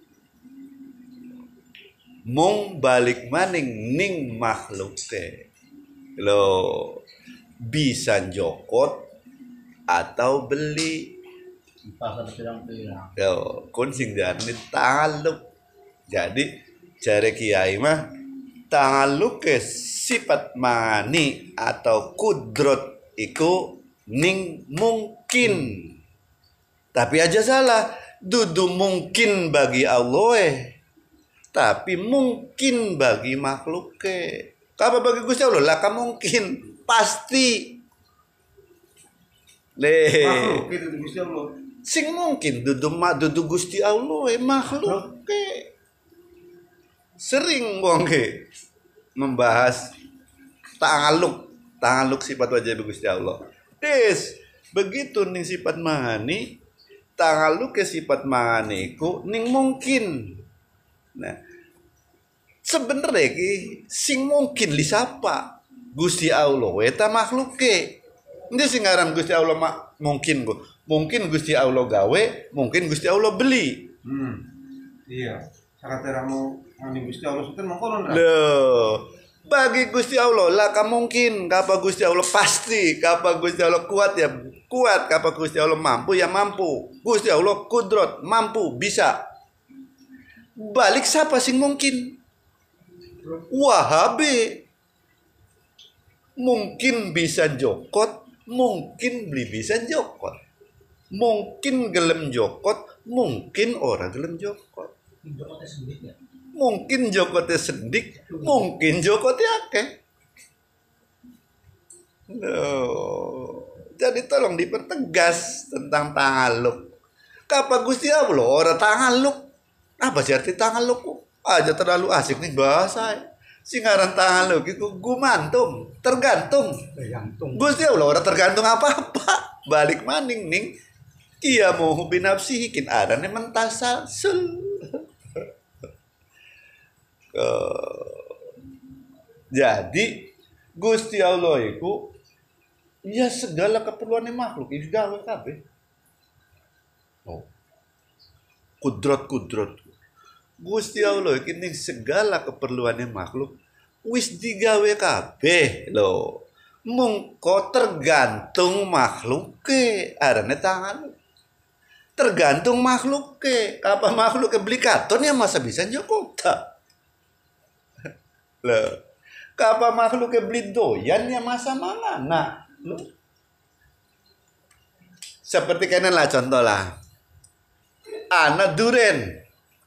Mung balik maning ning makhluke. Lo bisa jokot atau beli Pasar pirang-pirang. yo kun sing diarani taluk. Jadi jare kiai mah taluk ke sifat mani atau kudrot iku ning mungkin. Tapi aja salah, dudu mungkin bagi Allah tapi mungkin bagi makhluk Apa bagi Gusti Allah lah mungkin pasti. Makhluk itu Gusti Allah. Sing mungkin dudu Gusti Allah makhluk Sering wong membahas ta'aluk sifat wajib Gusti Allah. Begitu ning sifat mahani, ta'aluk ke sifat mahani ku ning mungkin. Nah, sebenarnya sing mungkin li sapa? Gusti Allah eta makhluk Ini sing ngaran Gusti Allah mungkin ku. Mungkin Gusti Allah gawe, mungkin Gusti Allah beli. Iya. Sangat teramu ngani Gusti Allah suten mongkon. Loh, bagi Gusti Allah lah mungkin, kapa Gusti Allah pasti, kapa Gusti Allah kuat ya kuat, kapa Gusti Allah mampu ya mampu. Gusti Allah kudrot, mampu, bisa. Balik siapa sing mungkin? Wahabi. Mungkin bisa jokot, mungkin beli bisa jokot. Mungkin gelem jokot, mungkin orang gelem jokot. Mungkin jokotnya sendik, mungkin jokotnya akeh. Jadi tolong dipertegas tentang ta'aluk. Kapa Gusti Allah orang ta'aluk. Apa sih arti ta'aluk? Aja terlalu asik nih bahasa. Singaran ta'aluk itu gumantung, tergantung. Gusti Allah orang tergantung apa-apa. Balik maning ning. Ia mau binafsihi kin arane mentasasul. Jadi Gusti Allah itu ya segala keperluan makhluk itu gawe kabeh. Kudrot Gusti Allah ini segala keperluan makhluk wis digawe kabeh lho. Mungko tergantung makhluk arane tangan. Tergantung makhluk apa makhluk beli katon ya masa bisa njokota. Loh, kapa makhluk beli doyan ya masa mana? Nah, loh. Seperti kena lah contoh lah. Anak duren.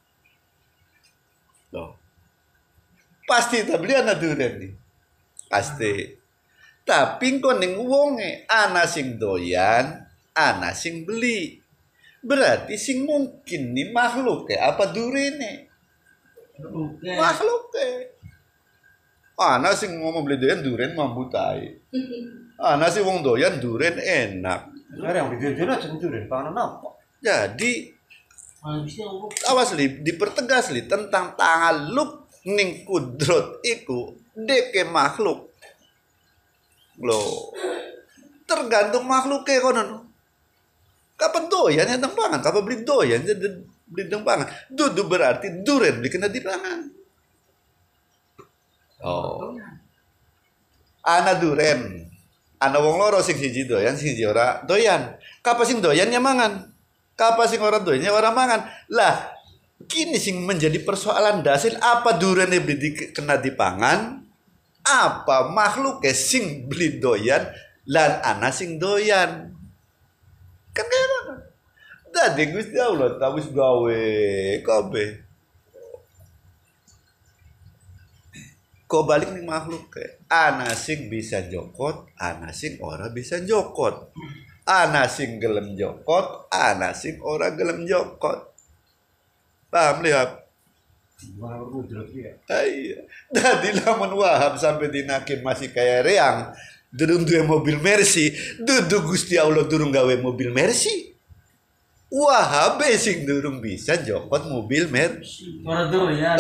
Loh. Pasti tak beli anak duren nih. Pasti. Tapi kok ning wonge ana sing doyan, ana sing beli. Berarti sing mungkin nih makhluk apa durene? Makhluk Ana sing ngomong beli doyan duren mambu tai. Ana sing wong doyan duren enak. Sekarang di duren aja duren, panganan apa? Jadi Mana bisa Allah. awas li dipertegas li tentang ta'alluq ning kudrot iku deke makhluk. Loh. Tergantung makhluknya konon. Kapan doyan ya teng pangan, kapan beli doyan jadi beli teng pangan. Dudu berarti duren beli kena di pangan. Oh. Ana duren. Ana wong loro sing siji doyan, sing siji ora doyan. Kapan sing doyan ya mangan? Kapan sing ora doyan ya ora mangan? Lah, kini sing menjadi persoalan dasar apa durene beli kena dipangan? Apa makhluknya sing beli doyan lan ana sing doyan? Kan kaya ngono. Dadi Gusti Allah ta wis gawe kabeh. Kok balik nih makhluk ke ana sing bisa jokot, ana sing ora bisa jokot. Ana sing gelem jokot, ana sing ora gelem jokot. Paham lihat? Mana kudrot ya? Iya. Dadi lamun Wahab sampai dinakin masih kayak reang. Durung duwe mobil Mercy, dudu Gusti Allah durung gawe mobil Mercy. Wahab sing durung bisa jokot mobil Mercy. Orang doyan.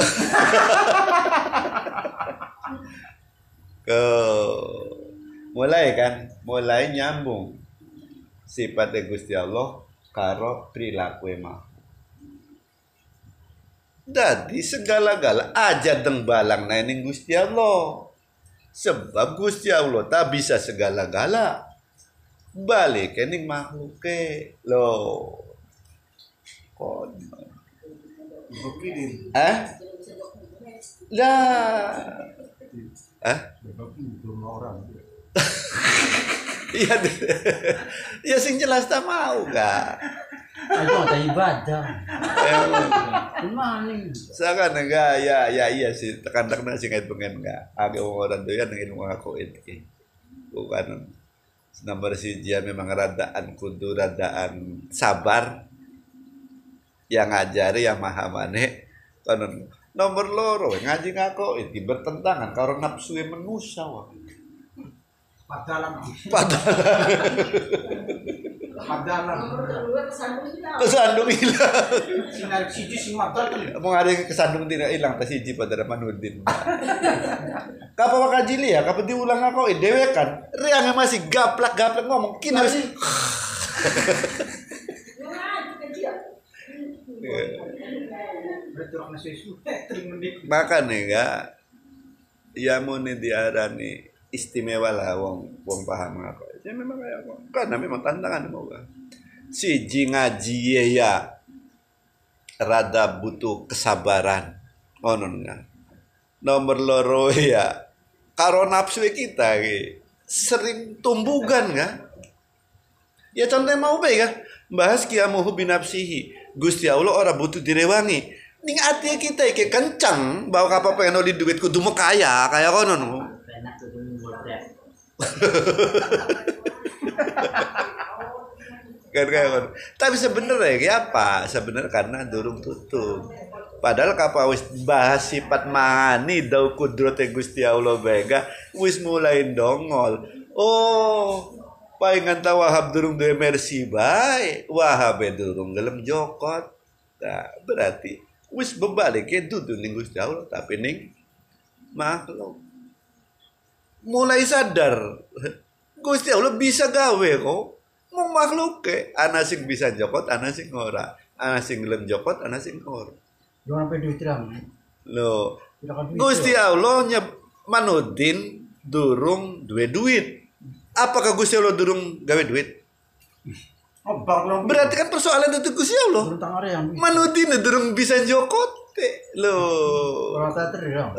Mulai nyambung sifatnya Gusti Allah karo perilaku makhluk. Dadi segala-gala aja deng balang ning Gusti Allah. Sebab Gusti Allah tak bisa segala-gala. Balik ning makhluke. Loh. Kon. Begini. Lah. Orang. Iya. Ya sing jelas tak mau gak. Aduh, ada ibadah. Gimana nih? Sangat enggak ya iya sih tekan-tekan sing ait pengen enggak. Age wong orang doyan ngene ilmu aku iki. Bukan nomor siji memang radaan kudu radaan sabar yang ngajari yang mahamane konon nomor loro ngaji ngako iki bertentangan karo nafsu manusia wae. Padalan. Kesandung hilang. Sinar siji sing madal tuh. Mau ada yang kesandung tidak hilang tas hiji pada Manudin. Kapa wakajili ya, kapa diulang aku dewe kan. Riangnya masih gaplak ngomong kini harus. Makanya enggak ya muni diarani istimewa lah wong paham aku. Ya memang kayak aku. Karena memang tantangan mau gak. Siji ngaji ya rada butuh kesabaran. Ngono kan. Nomor loro ya karo nafsu kita sering tumbugan kan. Ya contohnya mau bae kan bahas kiamuhu binafsihi. Gusti Allah ora butuh direwangi. Ning ati kita iki kencang bahwa apa pengen oli duit kudu mau kaya kono no. Enak tuh boleh. Kan. Tapi sebenarnya apa? Sebenarnya karena durung tutup. Padahal kapa wis bahas sifat mani dau kudrote Gusti Allah bega wis mulai dongol. Oh, paingan ta Wahab durung duwe mercy bae. Wahab durung gelem jokot. Nah, berarti wis bebalik dudu ning Gusti Allah tapi ning makhluk. Mulai sadar Gusti Allah bisa gawe kok. Mau makhluk ke ana sing bisa jokot, ana sing ora. Ana sing gelem jokot, ana sing ora. Jangan sampai duit terang. Loh. Gusti Allah Manudin durung duwe duit. Apakah Gusti Allah durung gawe duit? Berarti kan persoalan itu Gusti Allah. Manudin durung bisa jokot. Loh. Orang teater ya.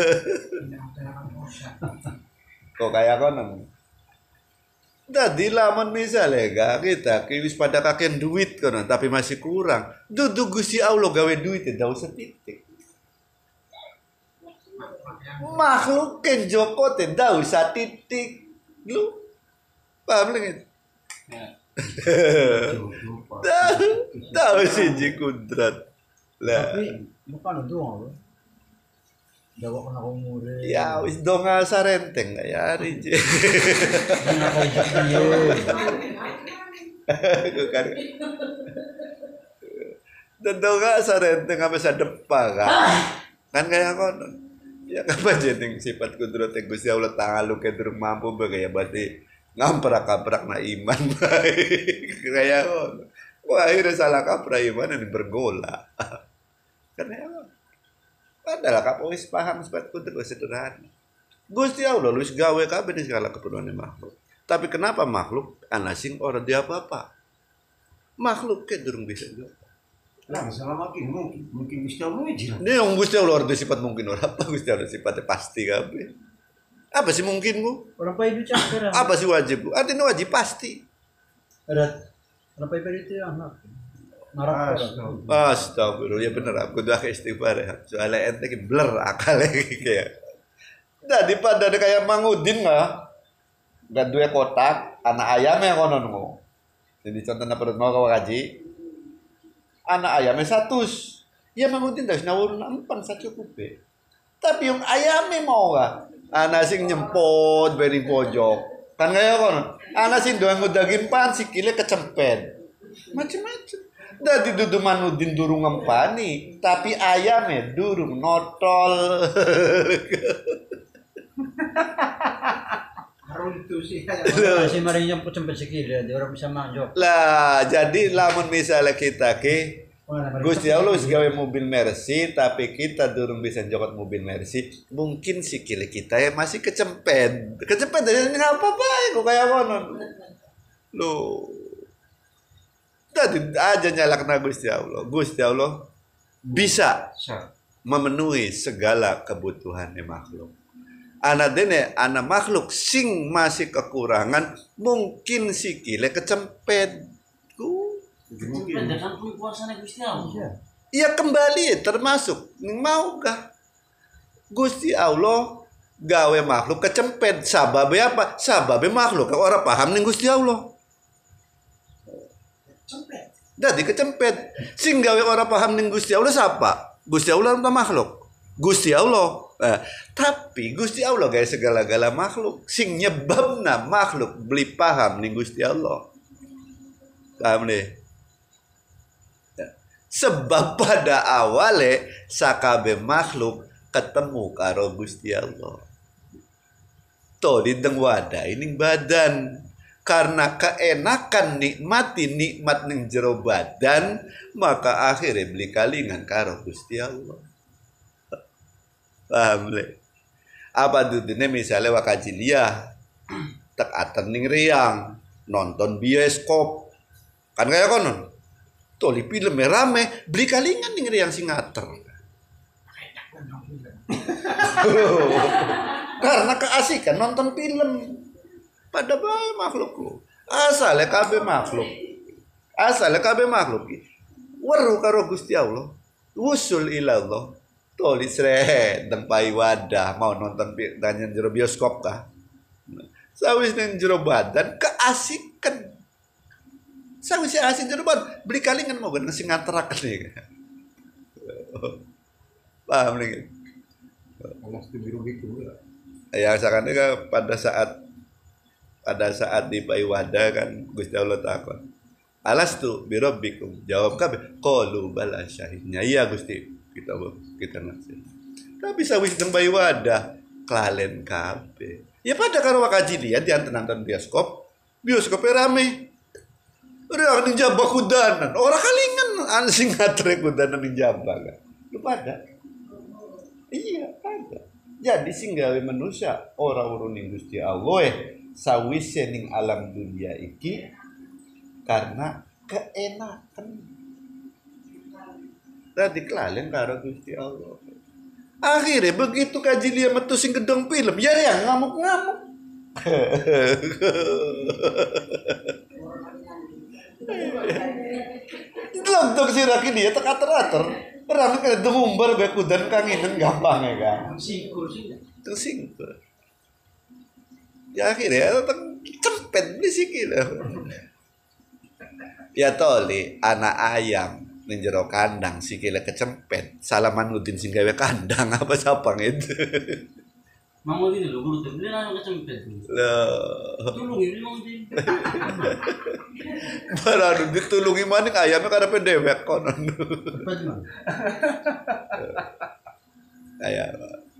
Kok kayak konon? Tadi lamun misalnya kita wis pada kakek duit konon tapi masih kurang. Dudu Gusti Allah gawe duit tidak usah titik. Makhluk ken Joko tidak usah titik. Lu paham lagi? Tahu sih kudrat. Lah. Tapi bukan doang. Dawa ko na kong mure. Ya wis do nga sa renteng ngayari. Hindi na kayo dyan niyo. Dado nga sa renteng kami sa depa ka. Kan kaya ko ya kapag jening sifat kudrot yang Gusti Allah tangalu ke durung mampu ba kaya berarti ngamprak-kaprak na iman kaya ko. Wah, akhirnya salah kaprah iman ini bergola. Karena padahal kamu wis paham sifat kudrot sederhana. Gusti Allah lu gawe kabeh di segala keperluan makhluk. Tapi kenapa makhluk anasing orang dia apa-apa? Makhluk ke durung bisa juga. Lah masalah mungkin Gusti Allah aja. Ini yang Gusti Allah ada sifat mungkin orang apa Gusti Allah sifatnya pasti kabeh. Apa sih mungkin bu? Orang pa itu cakar. Apa sih wajib bu? Artinya wajib pasti. Ada. Orang pa itu anak. Marah. Astagfirullah ya bener aku doa ke istighfar ya. Soalnya ente ki blur akalnya kayak. Jadi pada kayak Mangudin nggak dua kotak anak ayamnya konon mau. Jadi contohnya perut mau kau kaji. Anak ayamnya 100. Ya Mangudin dah nawurun 4 sacukup. Tapi yang ayamnya mau gak? Anak sing nyempot beri pojok. Kan kayak konon. Anak sing doang daging pan sikile kecempet. Macem-macem. Dadi dudu Manudin durung ngempani, tapi ayamnya durung notol. Harus itu sih. Masih marinya cempet sikile, dia orang bisa manjok. Lah, jadi lamun misalnya kita ke Gusti Allah gawe mobil Mercy, tapi kita durung bisa jokot mobil Mercy, mungkin sikile kita ya masih kecempet. Kecempet dari ngapa bae kok kayak konon. Loh. Tadi aja nyalakna Gusti Allah. Gusti Allah bisa memenuhi segala kebutuhan makhluk. Anak dene anak makhluk sing masih kekurangan mungkin sikile kecempet. Mungkin kan puasanya Gusti Allah. Iya kembali termasuk maukah Gusti Allah gawe makhluk kecempet sababe apa? Sababe makhluk orang paham nih Gusti Allah. Jadi kecempet sing gawe orang paham ning Gusti Allah siapa? Gusti Allah atau makhluk? Gusti Allah. Tapi Gusti Allah gawe segala-gala makhluk sing nyebabna makhluk beli paham ning Gusti Allah. Paham deh? Sebab pada awale sakabe makhluk ketemu karo Gusti Allah. To di teng wadah ini badan. Karena keenakan nikmati nikmat ning jero badan, maka akhirnya beli kalingan karo Gusti Allah. Paham le? Apa dudune misalnya wakajilia tek aten ning riang nonton bioskop. Kan kayak konon. Toli film rame, beli kalingan ning riang singater. Karena keasikan nonton film. Pada bae makhluk lu. Asale kabeh makhluk. Asale kabeh makhluk. Weru karo Gusti Allah. Wusul ila Allah. Tulis redeng pai wadah mau nonton danyen jero bioskop kah? Sawis nang jero badan keasikan. Sawis asik jero badan beli kalingan mau gak sing ngateraken iki. Paham nih? Alas tu biru gitu. Ya sakane pada saat di paiwada kan Gusti Allah takon. Alastu birabbikum jawab kabeh qalu bala syahidnya iya Gusti kita nasi. Tapi sawis teng paiwada klalen kabeh. Ya pada karo wakajilian di nonton bioskop rame. Ora ning jabah kudanan, ora kalingan sing ngatre kudanan ning jabah kan. Lu pada. Iya, pada. Jadi sing gawe manusia ora urun ning Gusti Allah sawise ning alam dunia iki karena keenakan. Tadi kelalen karo Gusti Allah. Akhirnya begitu kaji dia metu sing gedong film, ya yang ngamuk-ngamuk. Lontok si Raki dia teratur-atur. Orang kena dumbar be kudan kanginan gampang ya kan. Tersingkur. Ya akhirnya cempet di sikil. Ya toli anak ayam ning jero kandang sikile kecempet Salamanudin sing gawe kandang apa sapang itu. Mau ini lho guru tuh, dia nanya kecempet. Lah, Tolong ini mau ini. barang ditulungi maning ayamnya karepe dewek konon. Cepet man. Kayak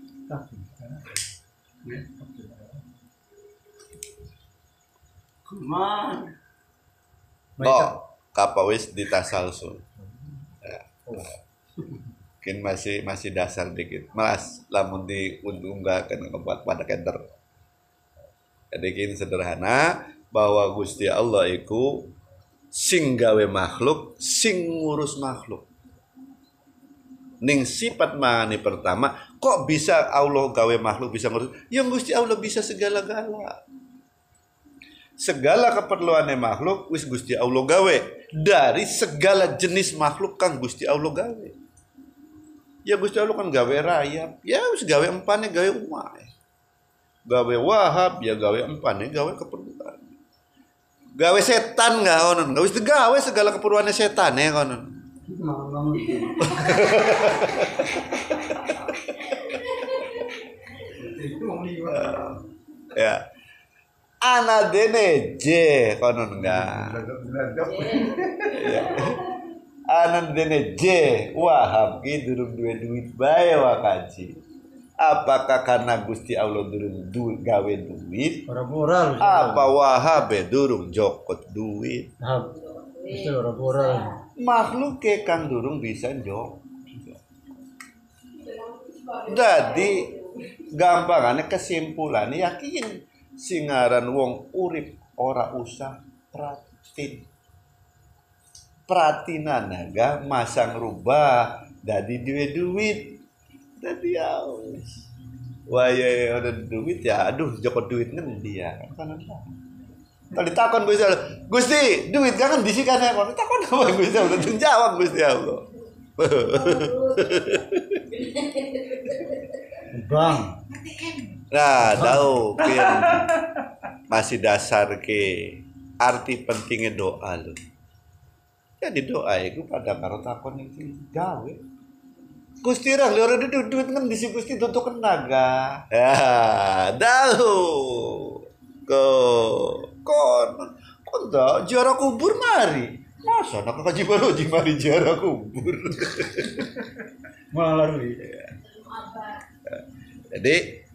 Kuman. kok kapa wis ditasalsul. Ya. Mungkin masih dasar dikit. Mas lamun diunggahkeun kebuat pada kenter. Jadi kini sederhana bahwa Gusti Allah iku sing gawe makhluk, sing ngurus makhluk. Ning sifat mani pertama, kok bisa Allah gawe makhluk bisa ngurus? Yang Gusti Allah bisa segala-gala. Segala keperluannya makhluk wis Gusti Allah gawe dari segala jenis makhluk kang Gusti Allah gawe. Ya Gusti Allah kan gawe rayap, ya wis gawe empane gawe umay. Gawe wahab ya gawe empane gawe keperluan. Gawe setan enggak konon, wis gawe segala keperluannya setan ya konon. Ya. Ana dene J konon enggak. Ya. Ana dene J wahab ki durung duwe duit bae wakaji. Apakah karena Gusti Allah durung gawe duit? Ora-ora. Apa wahab durung jokot duit? Nah, itu ora-ora. Makhluk ke kang durung bisa jok. Jadi gampangannya kesimpulannya yakin singaran wong urip ora usah pratinanaga masang rubah dadi duit dadi ya waya ada duit ya aduh joko duit ngendi ya kan tadi takon Gusti duit kan disikan ya kon takon apa Gusti udah jawab Gusti Allah. Bang. Nah, tahu masih dasar ke arti pentingnya doa lu. Jadi doa itu pada karo takon itu gawe. Gusti ra lho duit kan disi Gusti tutuk tenaga. Ya, tahu. Kon dah ziarah kubur mari. Masa nak kaji baru mari ziarah kubur. Malah lu. Jadi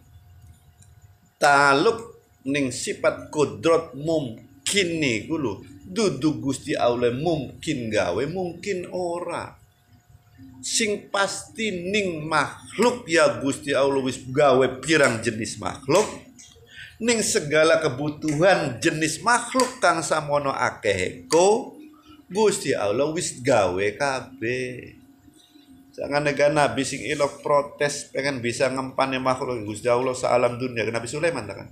taluk ning sifat kodrat mungkin nih gulu duduk Gusti Allah mungkin gawe mungkin ora sing pasti ning makhluk ya Gusti Allah wis gawe pirang jenis makhluk ning segala kebutuhan jenis makhluk kang samono akeh ko Gusti Allah wis gawe kabeh. Jangan negara Nabi sing ilok protes pengen bisa ngempane makhluk Gusti Allah sealam dunia Nabi Sulaiman kan.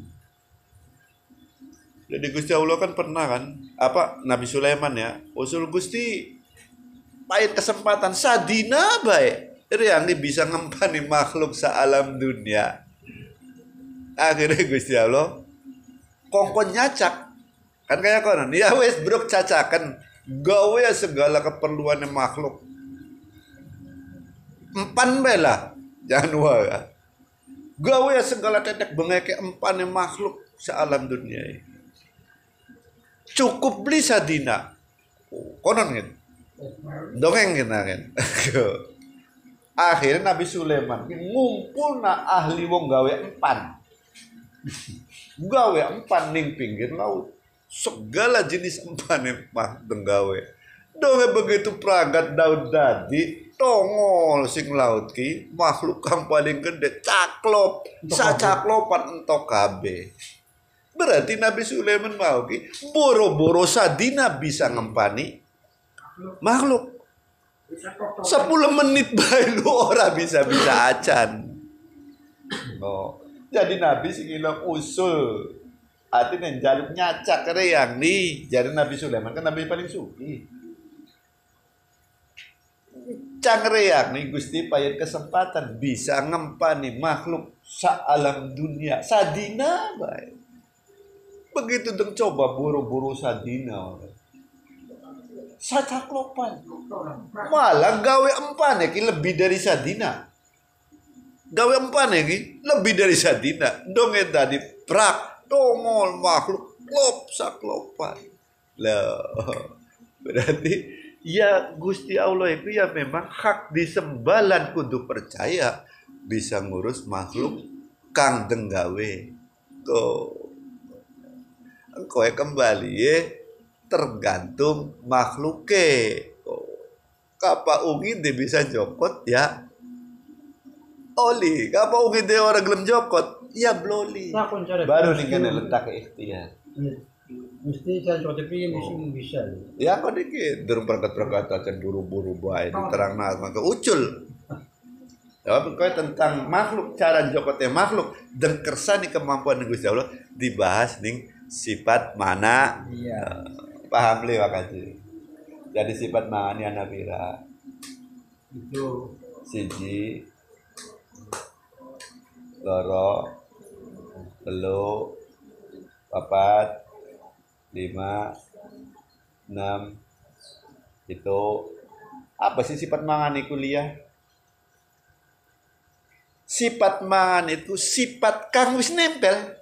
Jadi Gusti Allah kan pernah kan apa Nabi Sulaiman ya usul Gusti pahit kesempatan sadina baik yang bisa ngempani makhluk sealam dunia. Akhirnya Gusti Allah kongkon nyacak kan kayak konon ya wes brok cacakan gawe segala keperluannya makhluk. Empan bela jangan wae. Gawe segala tetek bengeke empane makhluk sealam dunia. Cukup beli sadina. Konon gitu. Dongeng kita kan. Akhirnya Nabi Sulaiman ngumpulna ahli wong gawe empan. Gawe empan ning pinggir laut. Segala jenis empane mah gawe. Donge begitu pragat Daud dadi tongol sing laut ki makhluk kang paling gede caklop sacaklopan entok kabeh. Berarti Nabi Sulaiman mau ki boro-boro sadina bisa ngempani makhluk 10 menit bae lu ora bisa acan. Oh, jadi Nabi sing ilang usul artinya jaluk nyacak yang nih jadi Nabi Sulaiman kan Nabi paling suki. Cangreak nih Gusti payah kesempatan bisa ngempani makhluk alam dunia sadina baik. Begitu dong coba buru-buru sadina. Sacaklopan. Malah gawe empane ki lebih dari sadina. Gawe empane ki lebih dari sadina. Dong eta di prak dongol makhluk klop saklopan. Lah berarti ya Gusti Allah itu ya memang hak disembalan kudu percaya bisa ngurus makhluk kang denggawe. Tuh. Engkau kembali ya tergantung makhluknya. Kapa ungi dia bisa jokot ya oli. Kapa ungi dia orang gelem jokot ya bloli. Baru nih kan letak ikhtiar. Mesti saya coba tapi mesti bisa. Ya kok dikit durung perkat-perkat acan buru-buru bae diterang maka ucul. Ya pokoknya tentang makhluk cara jokotnya makhluk dan kersani kemampuan Gusti Allah dibahas ning sifat mana. Iya. Paham li makasih. Jadi sifat mani anabira Itu siji loro telu papat 5 6 itu apa sih sifat mangan kuliah? Sifat mangan itu sifat kang wis nempel.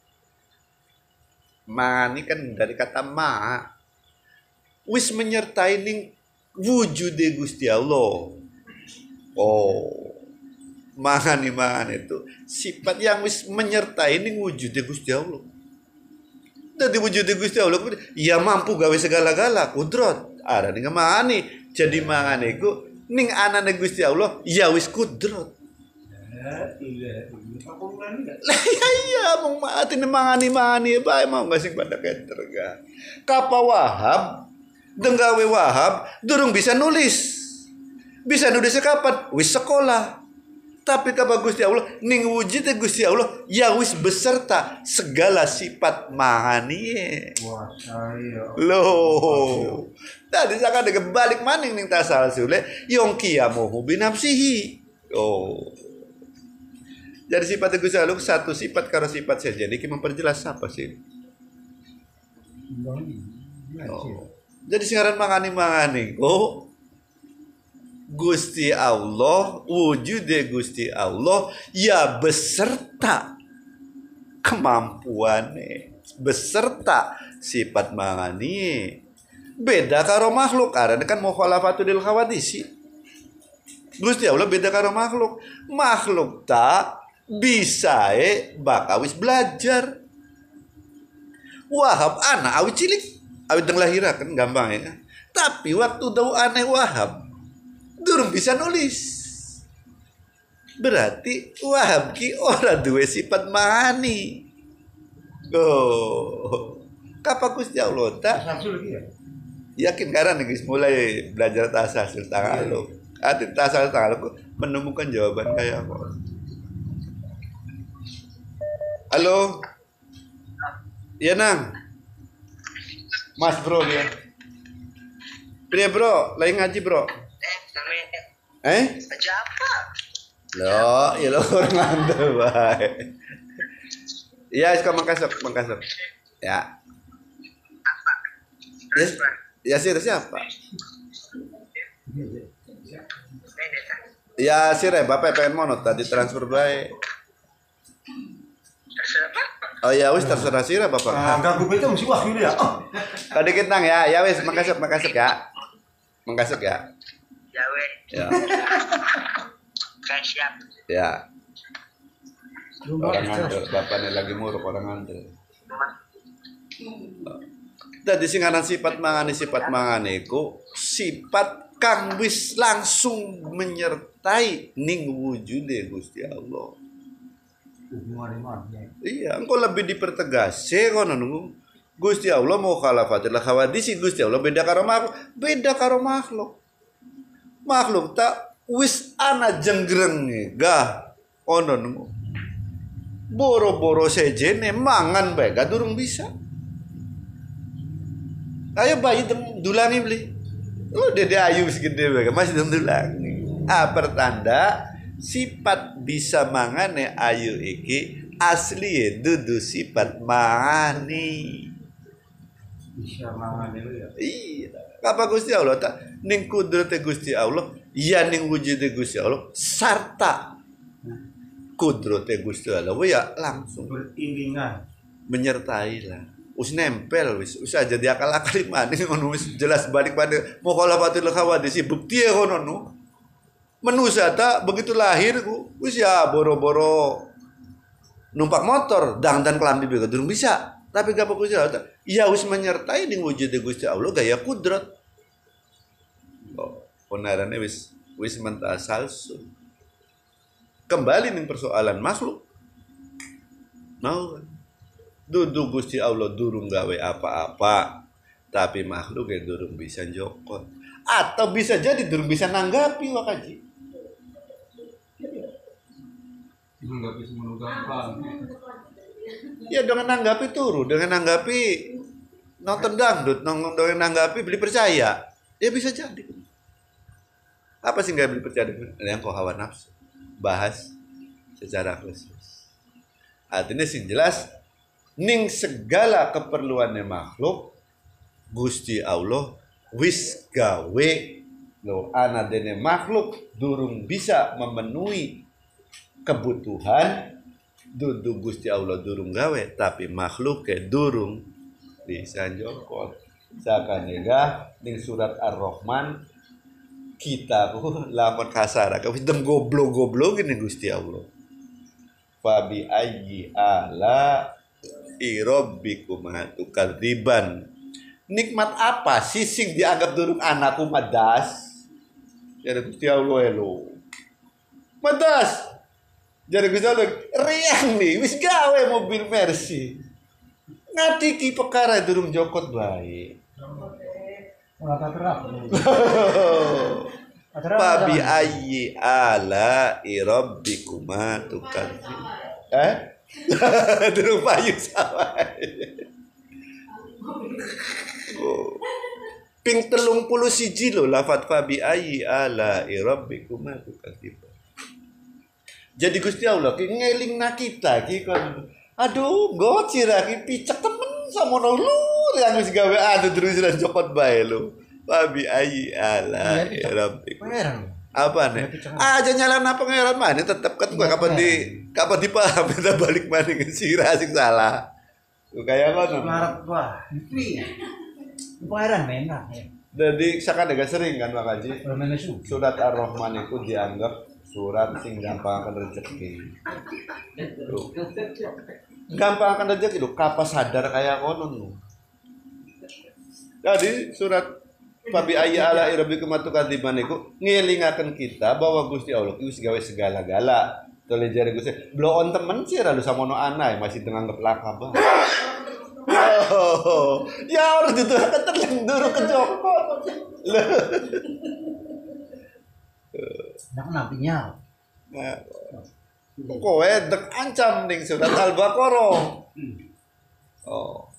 Mangan ini kan dari kata ma wis menyertai ning wujude Gusti Allah. Oh, mangan itu sifat yang wis menyertai ning wujude Gusti Allah. Dari wujude Gusti Allah ya mampu gawe segala-gala kudrat. Ada ning mangani jadi mangan iku ning anane Gusti Allah ya wis kudrat. Iya mau mati mangani bae mau nggak sing pada keter ga. Kapa Wahab denggawe Wahab durung bisa nulis. Bisa nulisnya kapan? Wis sekolah. Tapi kapa Gusti Allah ning wujudnya Gusti Allah ya wis beserta segala sifat mangani. wah saya. Loh. Tadi saya ada balik maning ning tasalsule yang kiamuhu binafsihi. Oh. Jadi sifat Gusti Allah satu sifat karo sifat saja. Jadi memperjelas apa sih? Oh. Jadi singaran mangani. Oh. Gusti Allah, wujude Gusti Allah ya beserta kemampuannya, beserta sifat mangani. Beda karo makhluk, karena kan mukhalafatul khawadisi. Gusti Allah beda karo makhluk. Makhluk tak bisa bakawis belajar. Wahab anak awit cilik, awit deng lahir kan gampang ya. Tapi waktu dau aneh Wahab durung bisa nulis. Berarti Wahab ki ora duwe sifat mani. Oh. Kapa Gusti Allah tak? Yakin karena guys mulai belajar tasasul Tagalog. Arti tasasul Tagalog menemukan jawaban kayak apa? Halo. Iya nang. Mas bro dia. Pria bro, lagi ngaji bro. Aja apa? Lo, ya lo orang nganter baik. Iya, sekarang mangkasep. Ya. Ya sih siapa? Ya sih Bapak pengen mono tadi transfer baik. Oh ya wis terserah sih Bapak. Ganggu itu mesti wahyu ya. Tadi kita ya, ya wis makasih ya. Makasih ya. Ya weh. Ya. Kan siap. Ya. Orang nganter, bapaknya lagi muruk orang nganter. Tadi singaran sifat mangane iku sifat kang wis langsung menyertai ning wujude Gusti Allah. Iya, engkau lebih dipertegas kono nunggu. Gusti Allah mau khalafatil khawadisi Gusti Allah beda karo makhluk. Makhluk tak wis ana jenggreng gah ono nunggu. Boro-boro sejene mangan bae gak durung bisa. Ayo bayi dulangi beli. Lu dede ayu segede bae masih dulangi. Pertanda sifat bisa mangane ayu iki asli dudu sifat mangani. Bisa mangan itu ya. Iya. Kapa Gusti Allah tak ning kudrate Gusti Allah, ya ning wujude Gusti Allah sarta kudrate Gusti Allah ya langsung Beriringan. menyertai lah. Us nempel wis aja dia akal-akal maning ngono wis jelas balik pada mukhalafatul khawadis bukti ya ngono no. Manusia tak begitu lahir ku wis ya boro-boro numpak motor dan kelambi begitu durung bisa. Tapi gak Gusti Allah ya wis menyertai ning wujud Gusti Allah gaya kudrat. Oh, ponarane wis mentasalsul. Kembali ning persoalan makhluk. Mau dudu Gusti Allah durung gawe apa-apa, tapi makhluk ya durung bisa jokot. Atau bisa jadi durung bisa nanggapi wakaji. Nanggapi semua gampang. Ya dengan nanggapi turu, dengan nanggapi nonton dangdut, dengan nanggapi beli percaya. Ya bisa jadi. Apa sih nggak beli percaya dengan yang kau hawa nafsu? Bahas secara khusus. Artinya sih jelas ning segala keperluannya makhluk Gusti Allah wis gawe lo ana dene makhluk durung bisa memenuhi kebutuhan dudu Gusti Allah durung gawe tapi makhluk ke durung bisa jokot sakanega ning surat Ar-Rahman kita lamun kasar ka dem goblok-goblok ini Gusti Allah fabi ayyi ala irabbikum tukadziban. Nikmat apa sih sing dianggap durung anakku madas? Jadi Gusti Allah elo. Madas. Jadi Gusti Allah riang nih wis gawe mobil Mercy. Ngatiki perkara durung jokot bae. Ora terap. Fabi ayyi ala irabbikum tukadziban. Durung payu sama. Ping 31 lho lafat fabi ayyi ala rabbikum tukadziban. Jadi Gusti Allah ki ngelingna kita ki kon aduh gocira ki picek temen samono lur yang wis gawe anu terus jokot bae lho. Fabi ayyi ala rabbikum. Apa nih? Aja nyalana pangeran mana tetap kan kapan dipaham kita balik mana ke sirah sing salah. Tuh kayak ngono. Marap wah. Pangeran menak ya. Jadi sakadega sering kan Pak Haji. Menesu. Surat Ar-Rahman itu dianggap surat sing gampang akan rezeki. Gampang akan rezeki lho, kapas sadar kayak ngono. Jadi surat Fabi ayyi ala rabbikum tukadziban iku ngelingaken kita bahwa Gusti Allah itu gawe segala-gala. Tole jare Gusti, bloon temen sih lalu samono anai masih dengan ngeplaka bang. Oh, ya orang itu keterlendur ke Joko. Nak nabinya. Nah, kowe dek ancam ning surat Al-Baqarah. Oh.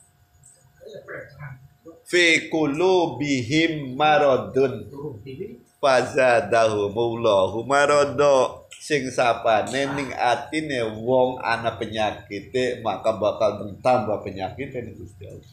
Fi qulubihim maradun fazadahumullahu marada sing sapane ning atine wong ana penyakite maka bakal tambah penyakit ning Gusti Allah.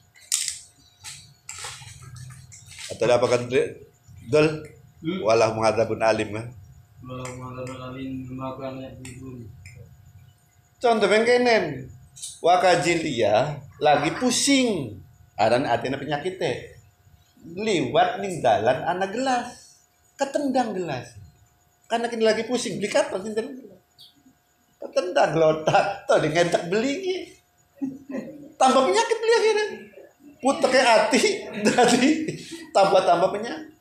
Atau apa kan dol walah menghadapun alim kan. Walau menghadapun alim makan ibu. Contoh bengkenen wakajilia lagi pusing. Aran atina penyakitnya liwat ning dalan ana gelas ketendang gelas karena kini lagi pusing beli kapan sih ketendang lotak tuh ngentak beli tambah penyakit beli akhirnya putek ke hati jadi tambah penyakit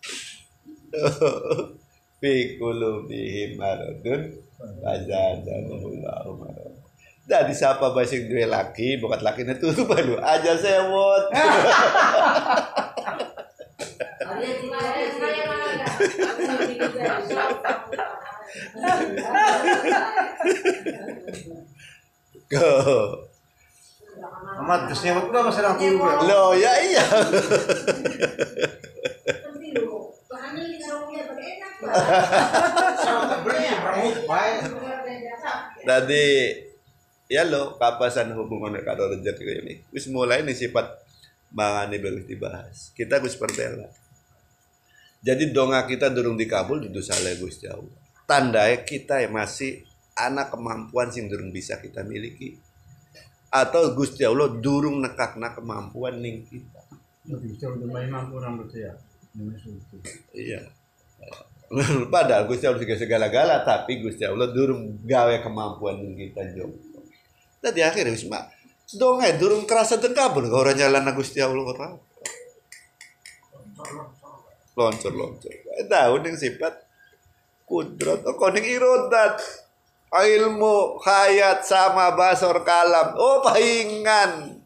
fi qulubihim maradun fazadahumullahu marad. Jadi siapa basing dua laki, bukan laki itu baru aja sewot. Amat terus nyewot udah masih aku juga. Loh ya iya. Tadi ya lo kapasan hubungan karo rezeki ini wis mulai nih sifat mangane bagus dibahas kita gus perbela Jadi donga kita durung dikabul dudu salah Gusti Allah. Tandai kita masih anak kemampuan sing durung bisa kita miliki. Atau Gusti Allah durung nekakna kemampuan ning kita. Lebih jauh lebih mampu orang berarti ya. Iya. Padahal Gusti Allah juga segala-gala, tapi Gusti Allah durung gawe kemampuan ning kita jo. Tadi akhirnya wis mak donga durung kerasa dengkabul kau orang jalan Gusti Allah ora. Loncor. Tahu ning sifat kudrat, kok ning irodat. Ilmu, hayat, sama basor kalam. Oh, pahingan.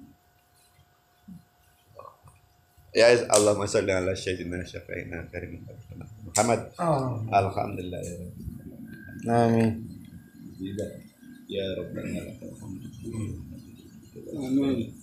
Ya Allahumma shalli ala sayyidina syafi'ina karim Muhammad. Alhamdulillah ya Rabbi. Amin. Ya Rabbana. Amin.